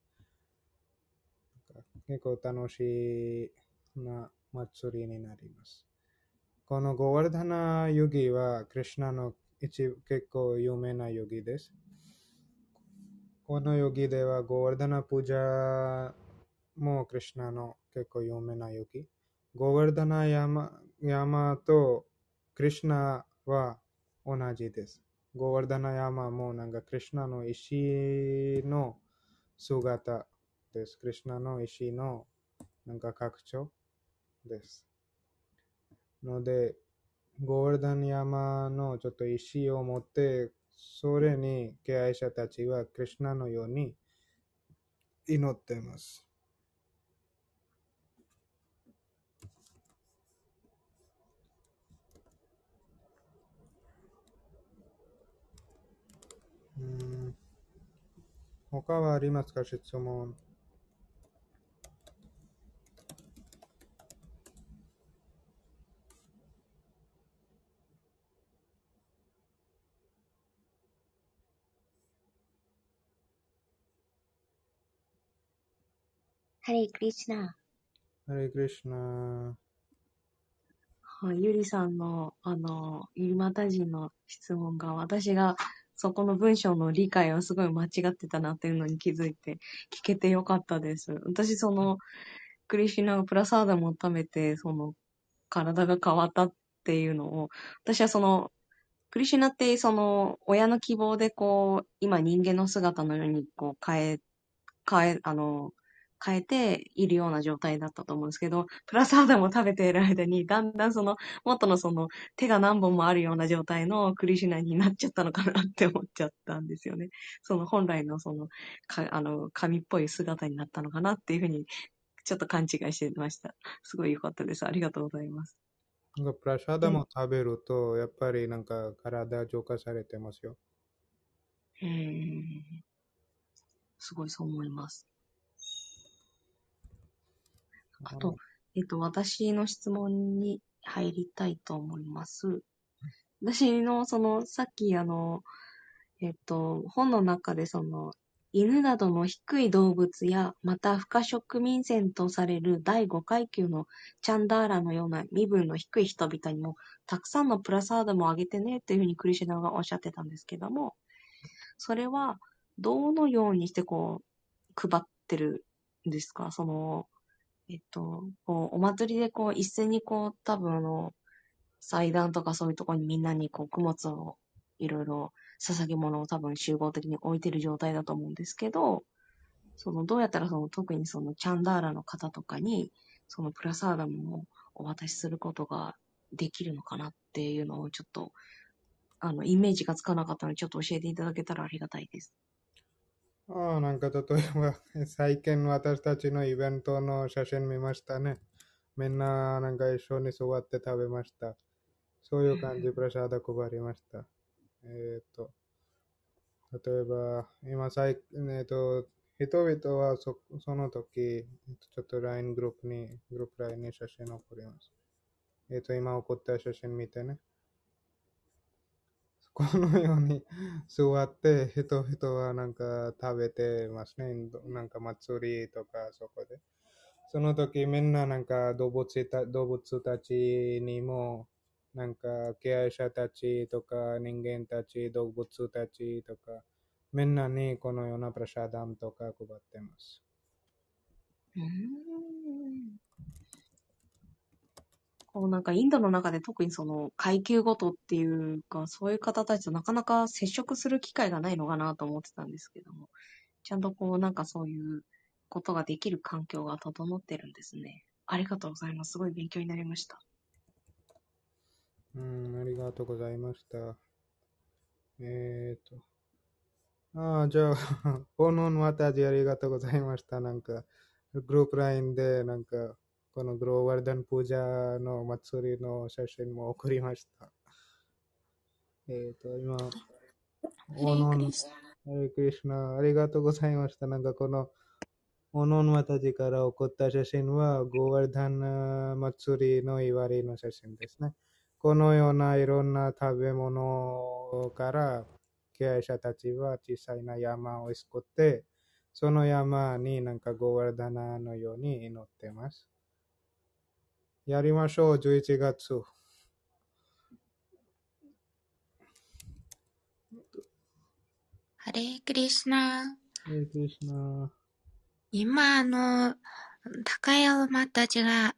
結構楽しいな祭りになります。このゴワルダナヨギはクリシュナの一結構有名なヨギです。このヨギではゴワルダナプージャもクリシュナの結構有名なヨギ。ゴワルダナ山、山とクリシュナは同じです。ゴワルダナ山もなんかクリシュナの石の姿です。クリシュナの石のなんか拡張です。ので、ゴールダン山のちょっと石を持って、それに敬愛者たちはクリシュナのように祈っています。うーん他はありますか、質問。 ハレークリシュナ。 ハレクリシュナ。 はい、ゆりさんの、あの、ユリマタ人の質問が、私がそこの文章の理解はすごい間違ってたなっていうのに気づいて、聞けてよかったです。私、その、クリシュナがプラサーダムを食べて、その、体が変わったっていうのを、私はその、クリシュナって、その、親の希望で、こう、今人間の姿のように、こう、変え、変え、あの、変えているような状態だったと思うんですけど、プラスアダムを食べている間に、だんだんその、元のその、手が何本もあるような状態のクリシュナになっちゃったのかなって思っちゃったんですよね。その本来のその、かあの、神っぽい姿になったのかなっていうふうに、ちょっと勘違いしてました。すごい良かったです。ありがとうございます。 なんかプラシャダで、 も食べると、やっぱりなんか体浄化されてますよ。 えー、すごいそう思います。あと、えっと、私の質問に入りたいと思います。私の、その、さっき、あの、えっと、本の中で、その、犬などの低い動物や、また、不可植民船とされる第五階級のチャンダーラのような身分の低い人々にも、たくさんのプラサーダムをあげてね、っていうふうにクリシュナがおっしゃってたんですけども、それは、どのようにして、こう、配ってるんですか？その、えっと、こう、お祭りでこう、一斉にこう、多分あの、祭壇とかそういうところにみんなにこう、供物を、いろいろ、捧げ物を多分集合的に置いてる状態だと思うんですけど、その、どうやったらその、特にその、チャンダーラの方とかに、その、プラサーダムをお渡しすることができるのかなっていうのをちょっと、あの、イメージがつかなかったので、ちょっと教えていただけたらありがたいです。 ああ、なんか例えば、最近私たちのイベントの写真見ましたね。みんななんか一緒に座って食べました。そういう感じ、プラシャダ配りました。えっと、例えば、今最、えっと、人々はそその時、ちょっと ライン グループに、グループ ライン に写真を送ります。えっと、今送った写真見てね。このように座って人々はなんか食べてますね。なんか祭りとかそこで。その時みんななんか動物た動物たちにもなんか敬愛者たちとか人間たち、動物たちとかみんなにこのようなプラシャダムとか配ってます。 うーん。 こうなんかインドの中で特にその階級ごとっていうか、そういう方たちとなかなか接触する機会がないのかなと思ってたんですけども、ちゃんとこうなんかそういうことができる環境が整ってるんですね。ありがとうございます。すごい勉強になりました。 うん、ありがとうございました。えーと、ああ、じゃあ、ポノンワタジありがとうございました。なんか、グループラインで、なんか、このグローワルダンプージャの祭りの写真も送りました。えーと、今、 ハオノン、 レークリスハレクリシュナ、ありがとうございました。なんかこの、オノンワタジから送った写真は、ゴーワルダン祭りの祝いの写真ですね。このようないろんな食べ物から、経営者たちは小さいな山を作って、その山になんかゴーワルダナのように祈ってます。やりましょう、じゅういちがつ。 ハレークリスナ。 ハレクリシュナ。 今、あの、高山マたちが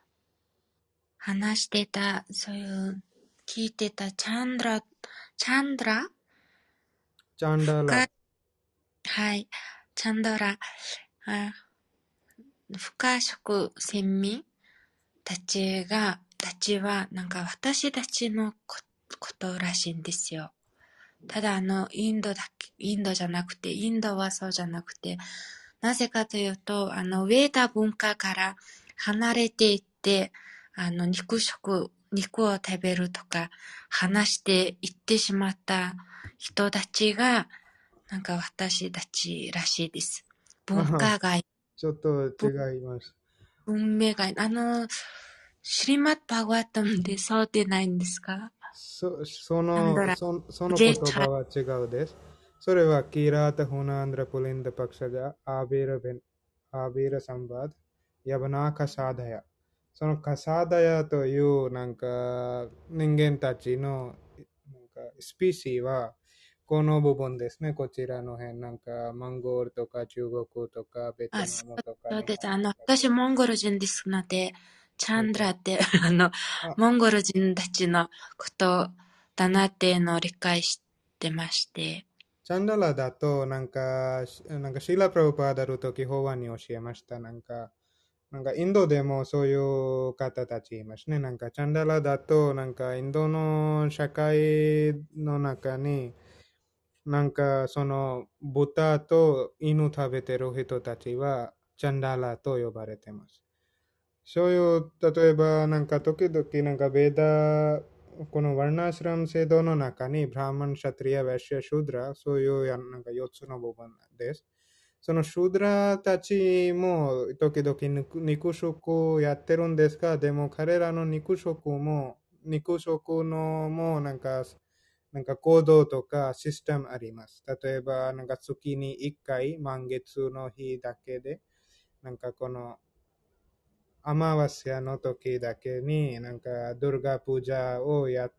話してた、そういう、聞いてたチャンドラ、チャンドラチャンダラ。 深はい、チャンドラ、あ不可食先民たちが、たちは、なんか私たちのこことらしいんですよ。ただあの、インドだけ、インドじゃなくて、インドはそうじゃなくて、なぜかというと、あの、ウェーダ文化から離れていって、あの、肉食、肉を食べるとか、話していってしまった人たちが、なんか私たちらしいです。文化が、 ちょっと違います。 文明が、あの、シリマットバグワッタムでそうでないんですか？ そそのそその言葉は違うです。それはキラータホナンドラプリンダパクシャジャアビラベンアビラサンバドヤバナカサダヤ。そのカサダヤというなんか人間たちのなんかスピーシーはこの部分ですね。こちらの辺なんかモンゴルとか中国とかベトナムとかそうです。あの、私モンゴル人ですので、チャンドラって、あの、 あモンゴル人たちのことだなっていうのを理解してまして。 チャンダラだと、なんか、なんかシーラ・プラブパーダの時、法案に教えました。なんか、なんかインドでもそういう方たちいますね。なんかチャンダラだと、なんかインドの社会の中に、なんかその豚と犬食べてる人たちは、チャンダラと呼ばれてます。そういう、例えば、なんか時々、なんかベーダ、このワルナシラム制度の中に、ブラーマン、シャトリア、ヴェシュア、シュードラ、そういうやなんかよっつの部分です。そのシュードラたちも時々肉肉食やってるんですが、でも彼らの肉食も、肉食のもなんか、なんか行動とかシステムあります。例えば、なんか月にいっかい、満月の日だけで、なんかこの、アマワスヤの時だけになんかドルガプージャをやって、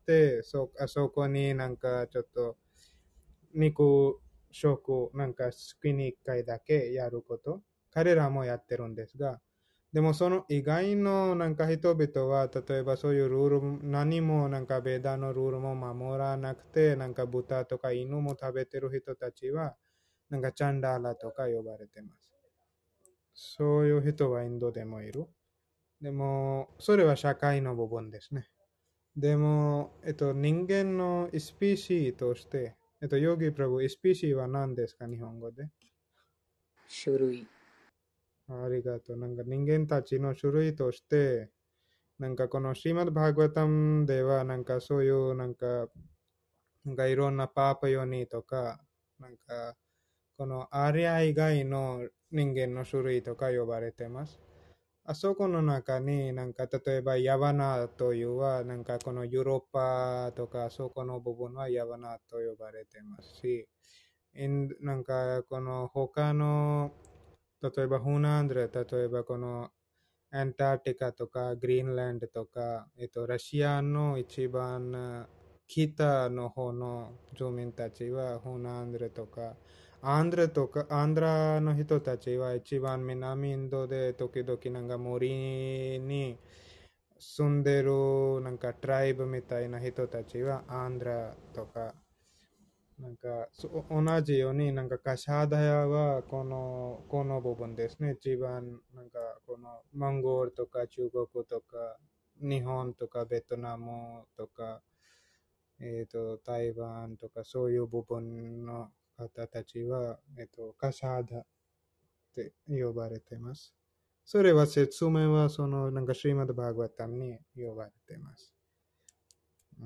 そあそこになんかちょっと肉食なんか月にいっかいだけやること。彼らもやってるんですが、でもその以外のなんか人々は、例えばそういうルール、何もなんかベーダのルールも守らなくて、なんか豚とか犬も食べてる人たちは、なんかチャンダーラとか呼ばれてます。そういう人はインドでもいる。でも、それは社会の部分ですね。でも、えっと、人間のスピーシーとして、えっと、ヨギプラブ、スピーシーは何ですか、日本語で。 種類。 ありがとう。なんか人間たちの種類として、なんかこのシーマッド・バーガワタムでは、なんかそういうなんか、なんかいろんなパーパヨニーとか、なんかこのアリア以外の人間の種類とか呼ばれてます。あそこの中になんか例えばヤバナというはなんかこのヨーロッパとかそこの部分はヤバナと呼ばれてますし、なんかこの他の例えばフーナンドレ、例えばこのアンターティカとかグリーンランドとか、えっと、ラシアの一番北の方の住民たちはフーナンドレとか、アンドラとか、アンドラの人たちは一番南インドで時々なんか森に住んでるなんかトライブみたいな人たちはアンドラとか、なんか同じようになんかカシャダヤはこのこの部分ですね。一番なんかこのモンゴルとか中国とか日本とかベトナムとか、えー、と台湾とかそういう部分の方たちは、えー、とカシャダって呼ばれています。それは説明はそのなんかシリマッドバーガワタムに呼ばれています。うん、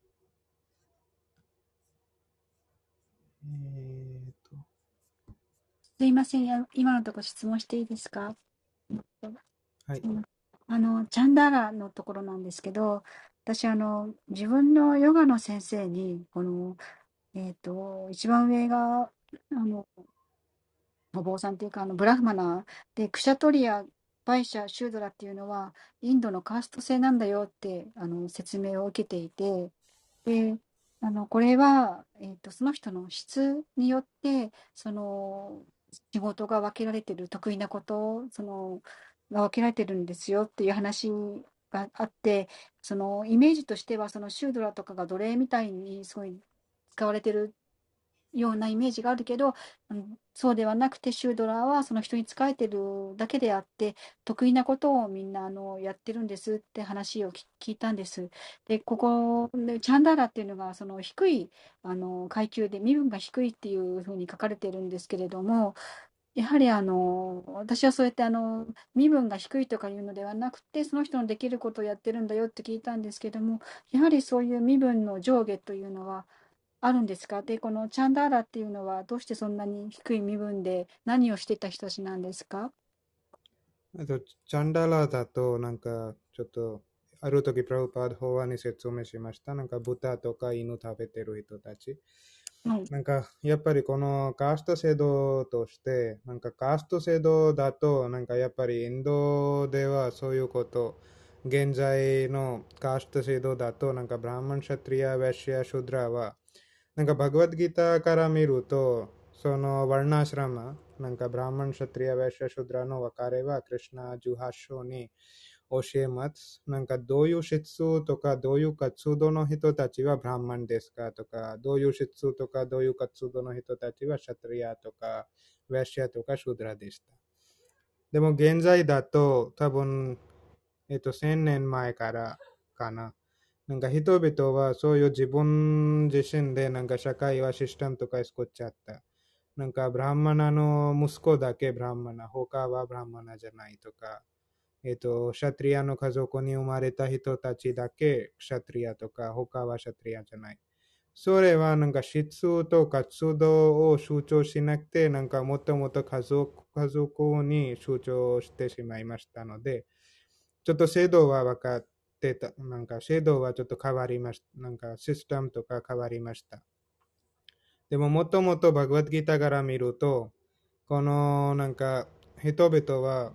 えー、とすいません。あ今のところ質問していいですか？ はい。 あの、チャンダーラのところなんですけど、私、あの、自分のヨガの先生に、この、えっと、一番上が、あの、お坊さんっていうか、あの、ブラフマナーで、クシャトリア、バイシャ、シュードラっていうのは、インドのカースト制なんだよって、あの、説明を受けていて、で、あの、これは、えっと、その人の質によって、その、仕事が分けられてる、得意なこと、その、が分けられてるんですよっていう話があって、その、イメージとしては、そのシュードラとかが奴隷みたいにすごい使われてるようなイメージがあるけど、うん、そうではなくて、シュードラーはその人に仕えてるだけであって、得意なことをみんなあのやってるんですって話をき聞いたんです。で、ここで、チャンダーラっていうのが、その低いあの階級で、身分が低いっていうふうに書かれてるんですけれども、やはりあの私はそうやってあの身分が低いとかいうのではなくて、その人のできることをやってるんだよって聞いたんですけども、やはりそういう身分の上下というのは、あるんですか？で、このチャンダーラっていうのはどうしてそんなに低い身分で何をしていた人たちなんですか？ あと、チャンダラだと、なんか、ちょっと、ある時、プラブパード法案に説明しました。なんか、豚とか犬食べてる人たち。 はい。 なんか、やっぱりこのカースト制度として、なんかカースト制度だと、なんかやっぱりインドではそういうこと、現在のカースト制度だと、なんかブラーマン、シャトリア、ヴェシア、シュドラは、なんかバグワッドギターから見ると、そのワルナシラマ、なんかブラーマン、シャトリア、ヴェシア、シュドラの分かれは、クリシナじゅうはち章に教えます。なんかどういう質とか、どういう活動の人たちはブラーマンですかとか、どういう質とか、どういう活動の人たちはシャトリアとか、ヴェシアとか、シュドラでした。でも現在だと、多分、えっと、せんねんまえからかな。なんか人々はそういう自分自身でなんか社会はシステムとか作っちゃった。なんかブラハマナの息子だけブラハマナ、他はブラハマナじゃないとか、えっと、シャトリアの家族に生まれた人たちだけシャトリアとか、他はシャトリアじゃない。それはなんか質と活動を集中しなくて、なんかもともと家族、家族に集中してしまいましたので、ちょっと制度は分かってた。なんか制度はちょっと変わりました。なんかシステムとか変わりました。でももともとバグワッドギターから見ると、このなんか人々は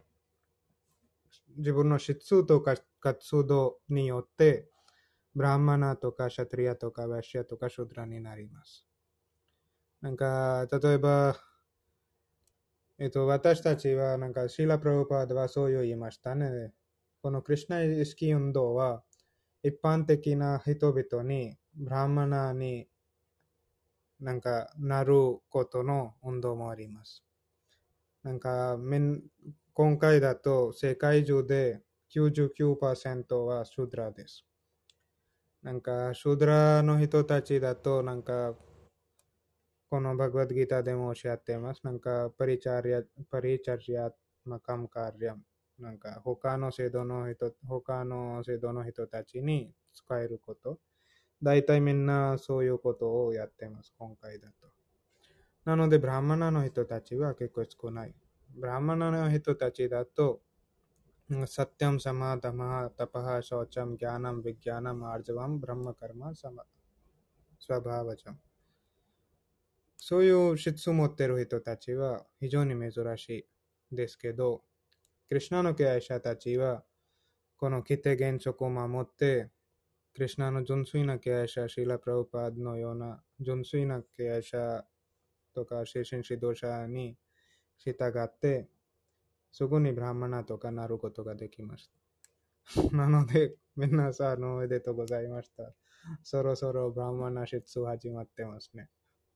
自分の質とか活動によって、ブラハマナとかシャトリアとかヴァシアとかシュドラになります。なんか例えば、えっと、私たちはなんかシーラ・プラブパードはそう言いましたね。このクリシナ意識運動は一般的な人々にブラハマナになんかなることの運動もあります。なんか今回だと世界中で きゅうじゅうきゅうパーセント はシュドラです。なんかシュドラの人たちだとなんかこのバグワッドギターでもおっしゃっています。なんかパリチャリア、パリチャリアマカムカリアム。なんか他の制度の人、他の制度の人たちに使えること。大体みんなそういうことをやってます、今回だと。なので、ブラハマナの人たちは結構少ない。ブラハマナの人たちだと、サッティャム、サマー、ダマー、タパハ、ショーチャム、ギャナム、ビギャナム、アージャワム、ブラマカルマ、サマ、スワバーバチャム。そういう質を持っている人たちは非常に珍しいですけど、クリシナの敬愛者たちは、この規定原則を守って、クリシナの純粋な敬愛者、シーラ・プラブパードのような純粋な敬愛者とか精神指導者に従って、そこにブラハマナとかなることができます。 なので、皆さんおめでとうございました。そろそろブラマナシツ始まってますね。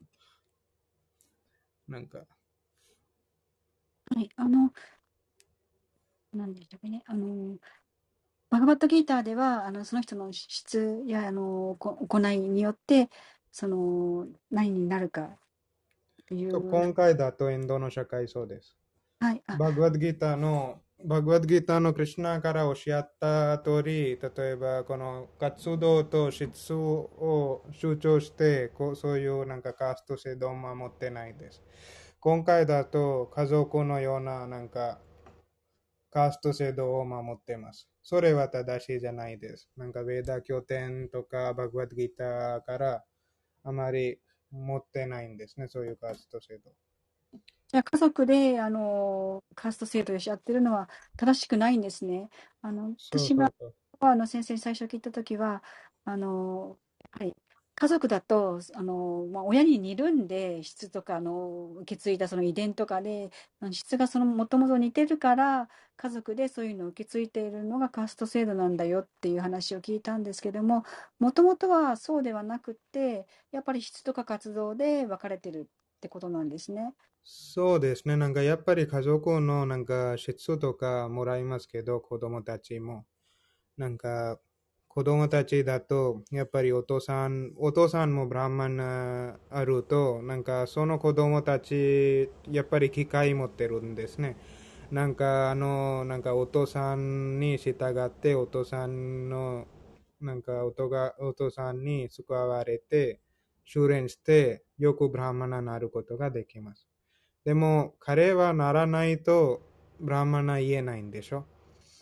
なんか。 はい、あの、何でしたっけね、あの、バガバットギーターでは、あの、その人の質や、あの、こ行いによって、その、何になるかという。 今回だとインドの社会そうです。 はい。 バグワッドギーターの、バグワッドギーターのクリシュナからおっしゃった通り、例えばこの活動と質を主張して、こうそういうなんかカースト制度を守ってないです。今回だと家族のようななんかカースト制度を守っています。それは正しいじゃないです。なんかベーダ経典とかバグワッドギーターからあまり持ってないんですね、そういうカースト制度。 じゃあ家族で、あの、カースト制度でやってるのは正しくないんですね。あの、私が、あの、先生に最初聞いたときは、あの、はい、家族だと、あの、まあ、親に似るんで、質とか、あの、受け継いだその遺伝とかで、質がその、もともと似てるから、家族でそういうのを受け継いでいるのがカースト制度なんだよっていう話を聞いたんですけども、もともとはそうではなくて、やっぱり質とか活動で分かれてるってことなんですね。 そうですね。なんかやっぱり家族のなんか質とかもらいますけど、子供たちも。なんか子供たちだと、やっぱりお父さん、お父さんもブラーマンあると、なんかその子供たち、やっぱり機会持ってるんですね。なんかあの、なんかお父さんに従って、お父さんの、なんかお父さんに救われて、修練して、よくブラーマナになることができます。でも彼はならないとブラーマナ言えないんでしょ。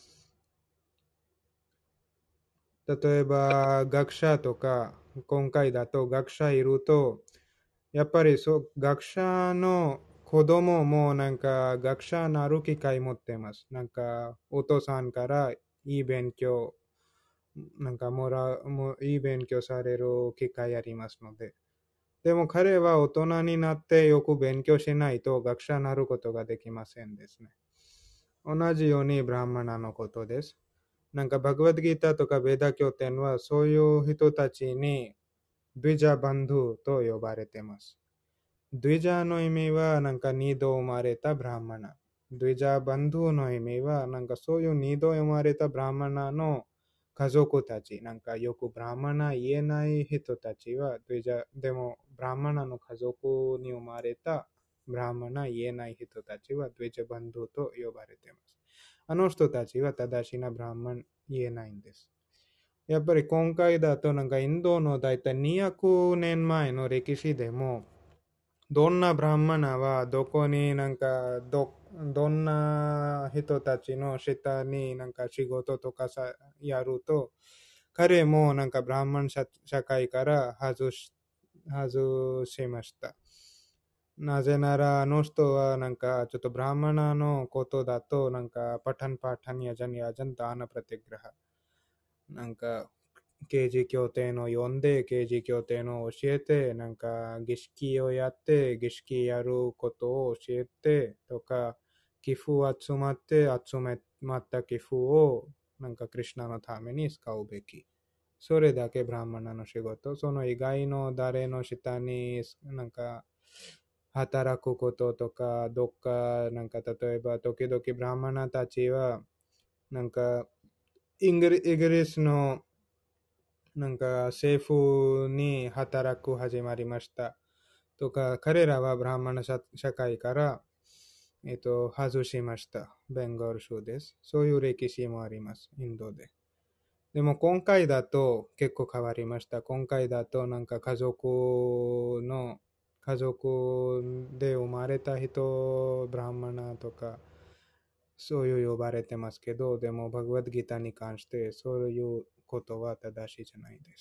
例えば学者とか、今回だと学者いると、やっぱりそう学者の子供もなんか学者になる機会持ってます。なんかお父さんからいい勉強、なんかもらう、もいい勉強される機会ありますので。でも彼は大人になってよく勉強しないと学者になることができませんですね。同じようにブラーマナのことです。なんかバグワッドギーターとかベーダ経典はそういう人たちにドゥイジャバンドゥと呼ばれています。ドゥイジャの意味はなんか二度生まれたブラーマナ。ドゥイジャバンドゥの意味はなんかそういう二度生まれたブラーマナの家族たち、なんかよくブラーマナ言えない人たちはドゥイジャ、でもブラーマナの家族に生まれたブラーマナ言えない人たちはドゥイジャバンドゥと呼ばれています。あの人たちは正しいなブラーマン言えないんです。やっぱり今回だとなんかインドのだいたいにひゃくねんまえの歴史でもどんなブラーマナはどこになんか ど, どんな人たちの下になんか仕事とかさやると彼もなんかブラーマン 社, 社会から外し、外しました。なぜならあの人はなんかちょっとブラーマナのことだとなんかパタンパタンヤジャンヤジャンダーナプラティグラハなんか刑事協定の読んで刑事協定の教えてなんか儀式をやって儀式やることを教えてとか寄付集まって集めまった寄付をなんかクリシュナのために使うべき。それだけブラーマナの仕事。その以外の誰の下になんか働くこととか、どっか、なんか例えば、時々ブラーマナたちは、なんか、イギリスの、なんか政府に働く始まりました。とか、彼らはブラーマナ社会から、えっと、外しました。ベンガル州です。そういう歴史もあります、インドで。でも今回だと結構変わりました。今回だとなんか家族の家族で生まれた人、ブラーマナとか、そういう呼ばれてますけど、でもバグワッドギターに関してそういうことは正しいじゃないです。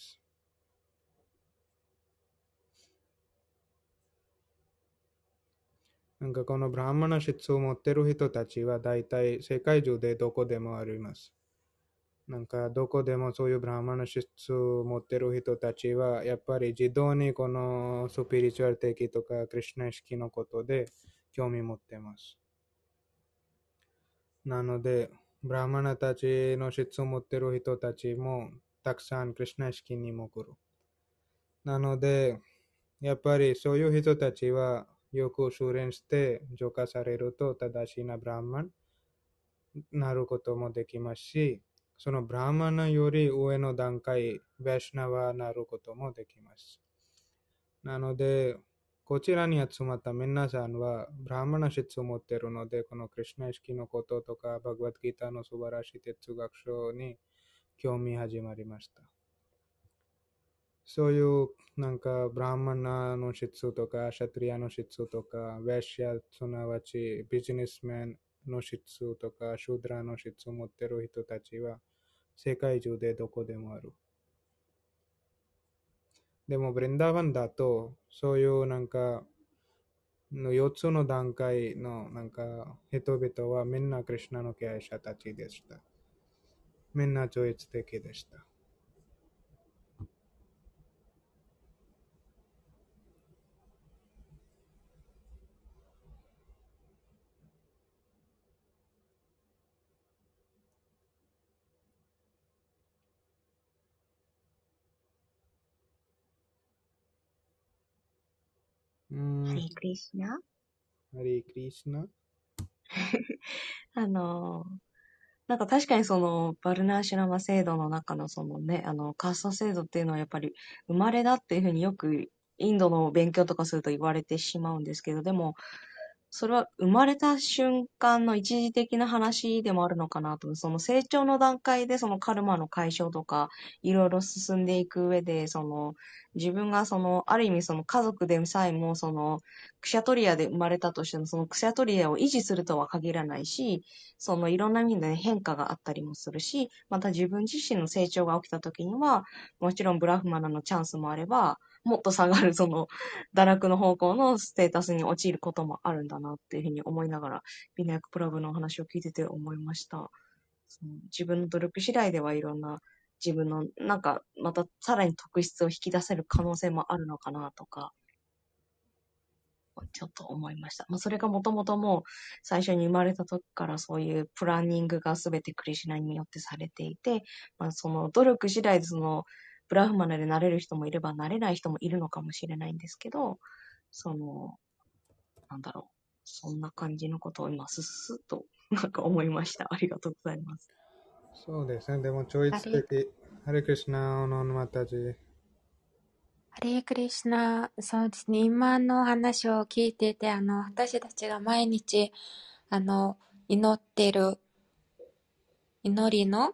なんかこのブラーマナ質を持ってる人たちは大体世界中でどこでもあります。なんかどこでもそういうブラーマナ質を持ってる人たちはやっぱり自動にこのスピリチュアル的とかクリシュナ意識のことで興味持ってます。なのでブラマナたちの質を持っている人たちもたくさんクリシュナ意識にも来る。なので、やっぱりそういう人たちはよく修練して浄化されると正しいなブラマンになることもできますし、そのブラマナより上の段階、ヴェシュナワになることもできます。なので、こちらに集まった皆さんはブラマナ質を持っているので、このクリシュナ意識のこととか、バグワッドギータの素晴らしい哲学書に興味始まりました。そういうなんかブラマナの質とか、シャトリアの質とか、ヴェシャ、すなわちビジネスメンの質とか、シュードラの質を持っている人たちは世界中でどこでもある。でも、ブリンダーバンだと、そういうなんか、のよっつの段階のなんか人々はみんなクリシュナの敬愛者たちでした。みんな超越的でした。うーん、 ハリークリシナ。 ハリークリシュナ。 あの、なんか確かにそのバルナーシュラマ制度の中のそのね、あのカースト制度っていうのはやっぱり生まれだっていうふうによくインドの勉強とかすると言われてしまうんですけど、でもそれは生まれた瞬間の一時的な話でもあるのかなと。その成長の段階でそのカルマの解消とかいろいろ進んでいく上で、その自分がそのある意味その家族でさえもそのクシャトリアで生まれたとしてもそのクシャトリアを維持するとは限らないし、そのいろんな意味で変化があったりもするし、また自分自身の成長が起きた時にはもちろんブラフマナのチャンスもあれば、もっと下がるその堕落の方向のステータスに陥ることもあるんだなっていうふうに思いながら、ビナヤクプラブのお話を聞いてて思いました。その自分の努力次第ではいろんな自分のなんかまたさらに特質を引き出せる可能性もあるのかなとか、ちょっと思いました。まあ、それがもともともう最初に生まれた時からそういうプランニングがすべてクリシュナによってされていて、まあ、その努力次第でそのブラフマナでなれる人もいればなれない人もいるのかもしれないんですけど、その、なんだろう。そんな感じのことを今、すすっとなんか思いました。ありがとうございます。 そうですね。でも超越ハレ、 的。ハレクリシュナのまたじ。 ハレークリシュナ、そうですね。今の話を聞いてて、あの、私たちが毎日、あの、祈ってる祈りの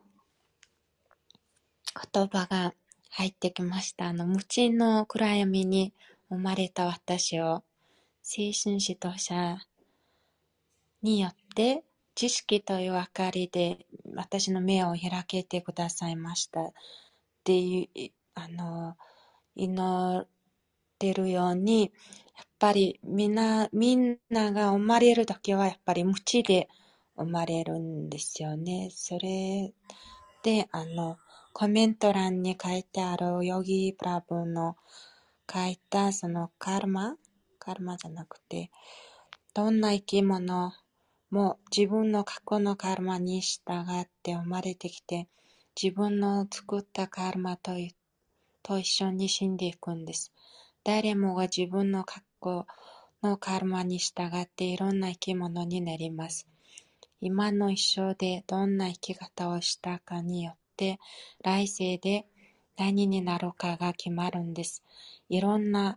言葉が入ってきました。あの、無知の暗闇に生まれた私を、精神指導者によって、知識という明かりで私の目を開けてくださいましたっていう、あの、祈ってるように、やっぱりみんな、みんなが生まれるときはやっぱり無知で生まれるんですよね。それで、あの、コメント欄に書いてあるヨギプラブの書いたそのカルマ、カルマじゃなくて、どんな生き物も自分の過去のカルマに従って生まれてきて、自分の作ったカルマとと一緒に死んでいくんです。誰もが自分の過去のカルマに従っていろんな生き物になります。今の一生でどんな生き方をしたかによって、来世で何になるかが決まるんです。いろんな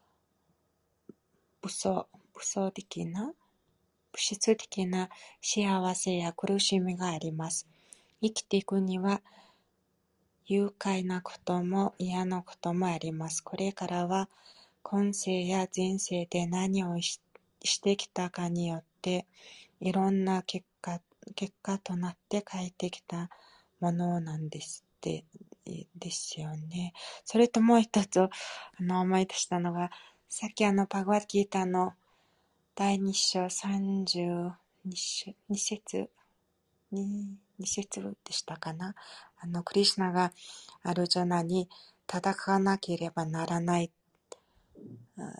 武装、武装的な、物質的な幸せや苦しみがあります。生きていくには愉快なことも嫌なこともあります。これからは今世や前世で何を し, してきたかによっていろんな結果、結果となって帰ってきたものなんですって、ですよね。それともう一つあの思い出したのが、さっきあのバグワッドギーターのだいに章さんじゅうに節に節でしたかな。あのクリシュナがアルジョナに戦わなければならない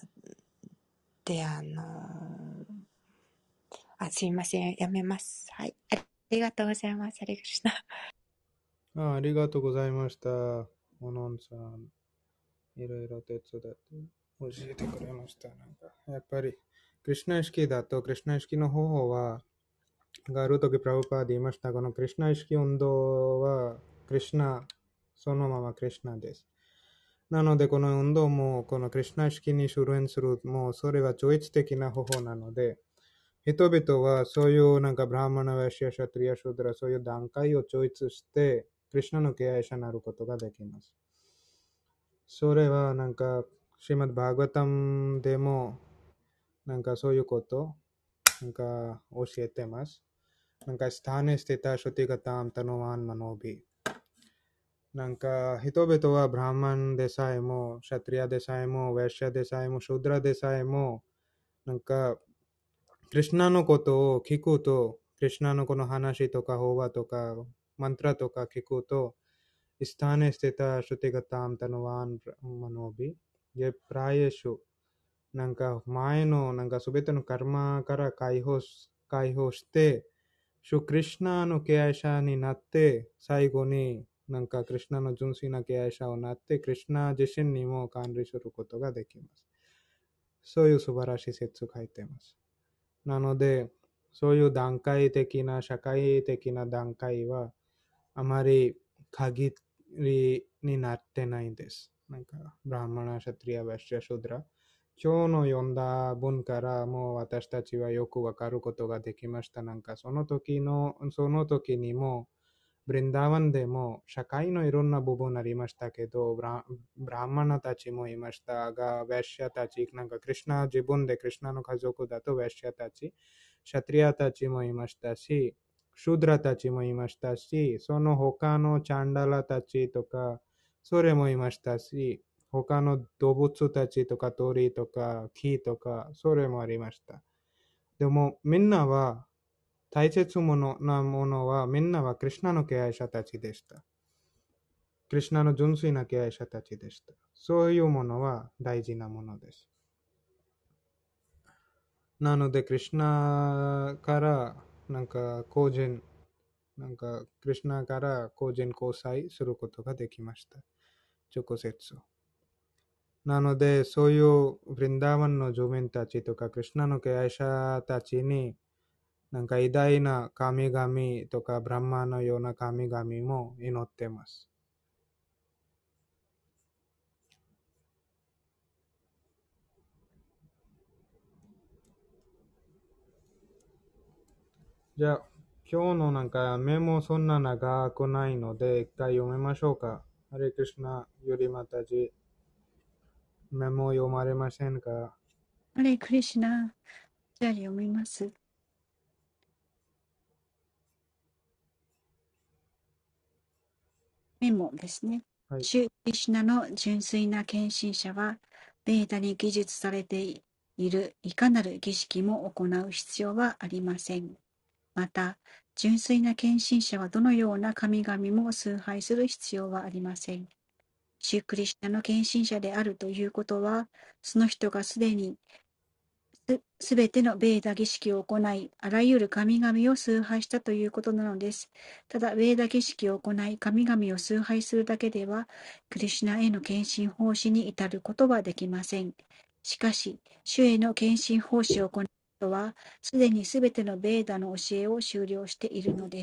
で、あのあすいません、やめます。はい。 りがとうございます。ハレクリシナ。 あ、ありがとうございました。おのんさん、いろいろ手伝って教えてくれました。なんかやっぱり、クリシナ意識だと、クリシナ意識の方法は、があるときプラブパーで言いました。このクリシナ意識運動は、クリシナ、そのままクリシナです。なので、この運動も、このクリシナ意識に修練する、もうそれは超越的な方法なので、人々はそういうなんかブラハマナ、ヴァシャ、シャトリア、シュドラ、そういう段階を超越して、クリシナの敬愛者になることができます。それはなんか、シーマッド・バーガタムでも、なんかそういうこと、なんか教えてます。なんか、スタネステタ、シュティガタム、タノワン、マノビ。なんか、人々はブラハマンでさえも、シャトリアでさえも、ヴァシャでさえも、シュドラでさえも、なんか、クリシナのことを聞くと、クリシナのこの話とか、法話とか、マントラとか聞くと、スタネステタ、シュティガタム、タノワン、マノビ。ये प्रायशु なんか前のなんかすべてのカルマから解放し、解放して、シュクリシナの敬愛者になって、最後になんかクリシナの純粋な敬愛者をなって、クリシナ自身にも管理することができます。そういう素晴らしい説を書いています。なので、そういう段階的な、社会的な段階は、あまり限りになってないんです。なんか、ブラハマナ、シャトリア、ヴァシュア、シュドラ。今日の読んだ文からもう私たちはよくわかることができました。なんか、その時の、その時にも、ブリンダーワンでも社会のいろんな部分ありましたけど、ブラブラハマナたちもいましたが、ヴェッシャたち、なんかクリシナ、自分でクリシナの家族だとヴェッシャたち、シャトリアたちもいましたし、シュドラたちもいましたし、その他のチャンダラたちとか、それもいましたし、他の動物たちとか鳥とか木とか、それもありました。でもみんなは、大切なものはみんなはクリシナの敬愛者たちでした。クリシナの純粋な敬愛者たちでした。そういうものは大事なものです。なので、クリシナからなんか個人、なんかクリシナから個人交際することができました。直接。なので、そういうブリンダーワンの住民たちとかクリシナの敬愛者たちになんか偉大な神々とかブランマのような神々も祈っています。じゃあ、今日のなんかメモそんな長くないので、一回読めましょうか。ハレクリシュナよりまたじ、メモ読まれませんか？ ハレクリシナ。じゃあ読みます。メモですね。 はい。 シュークリシュナの純粋な献身者は、ベーダに記述されているいかなる儀式も行う必要はありません。また、純粋な献身者はどのような神々も崇拝する必要はありません。シュークリシュナの献身者であるということは、その人がすでにすべてのベーダ儀式を行い、あらゆる神々を崇拝したということなのです。ただ、ベーダ儀式を行い、神々を崇拝するだけでは、クリシュナへの献身奉仕に至ることはできません。しかし、主への献身奉仕を行う人は、すでにすべてのベーダの教えを修了しているのです。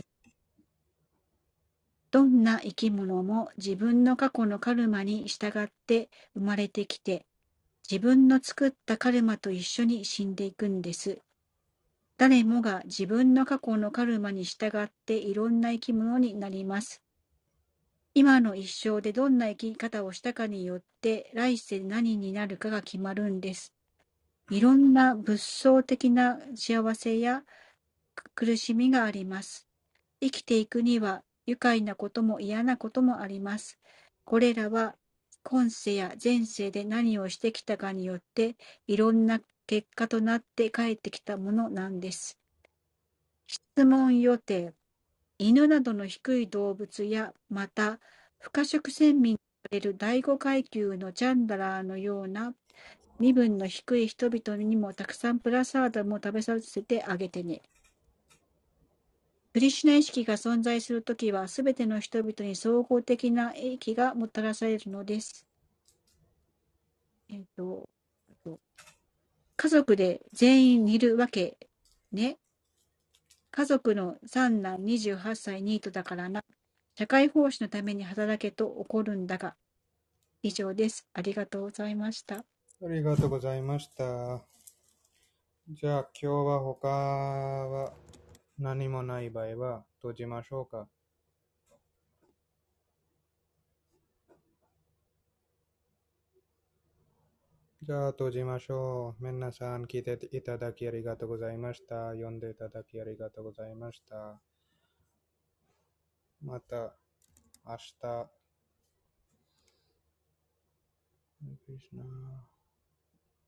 どんな生き物も自分の過去のカルマに従って生まれてきて、自分の作ったカルマと一緒に死んでいくんです。誰もが自分の過去のカルマに従っていろんな生き物になります。今の一生でどんな生き方をしたかによって来世何になるかが決まるんです。いろんな物相的な幸せや苦しみがあります。生きていくには愉快なことも嫌なこともあります。これらは今世や前世で何をしてきたかによっていろんな結果となって帰ってきたものなんです。質問予定。犬などの低い動物や、また、不可食鮮民とされる第五階級のチャンダラーのような身分の低い人々にもたくさんプラサーダも食べさせてあげてね。 クリシュナ意識が存在するときは、すべての人々に総合的な益がもたらされるのです。えっと、家族で全員似るわけね。家族の三男にじゅうはっさいニートだからな。社会奉仕のために働けと怒るんだが。以上です。ありがとうございました。 ありがとうございました。じゃあ今日は他は何もない場合は閉じましょうか。じゃあ閉じましょう。皆さん聞いていただきありがとうございました。読んでいただきありがとうございました。また明日。クリシュナ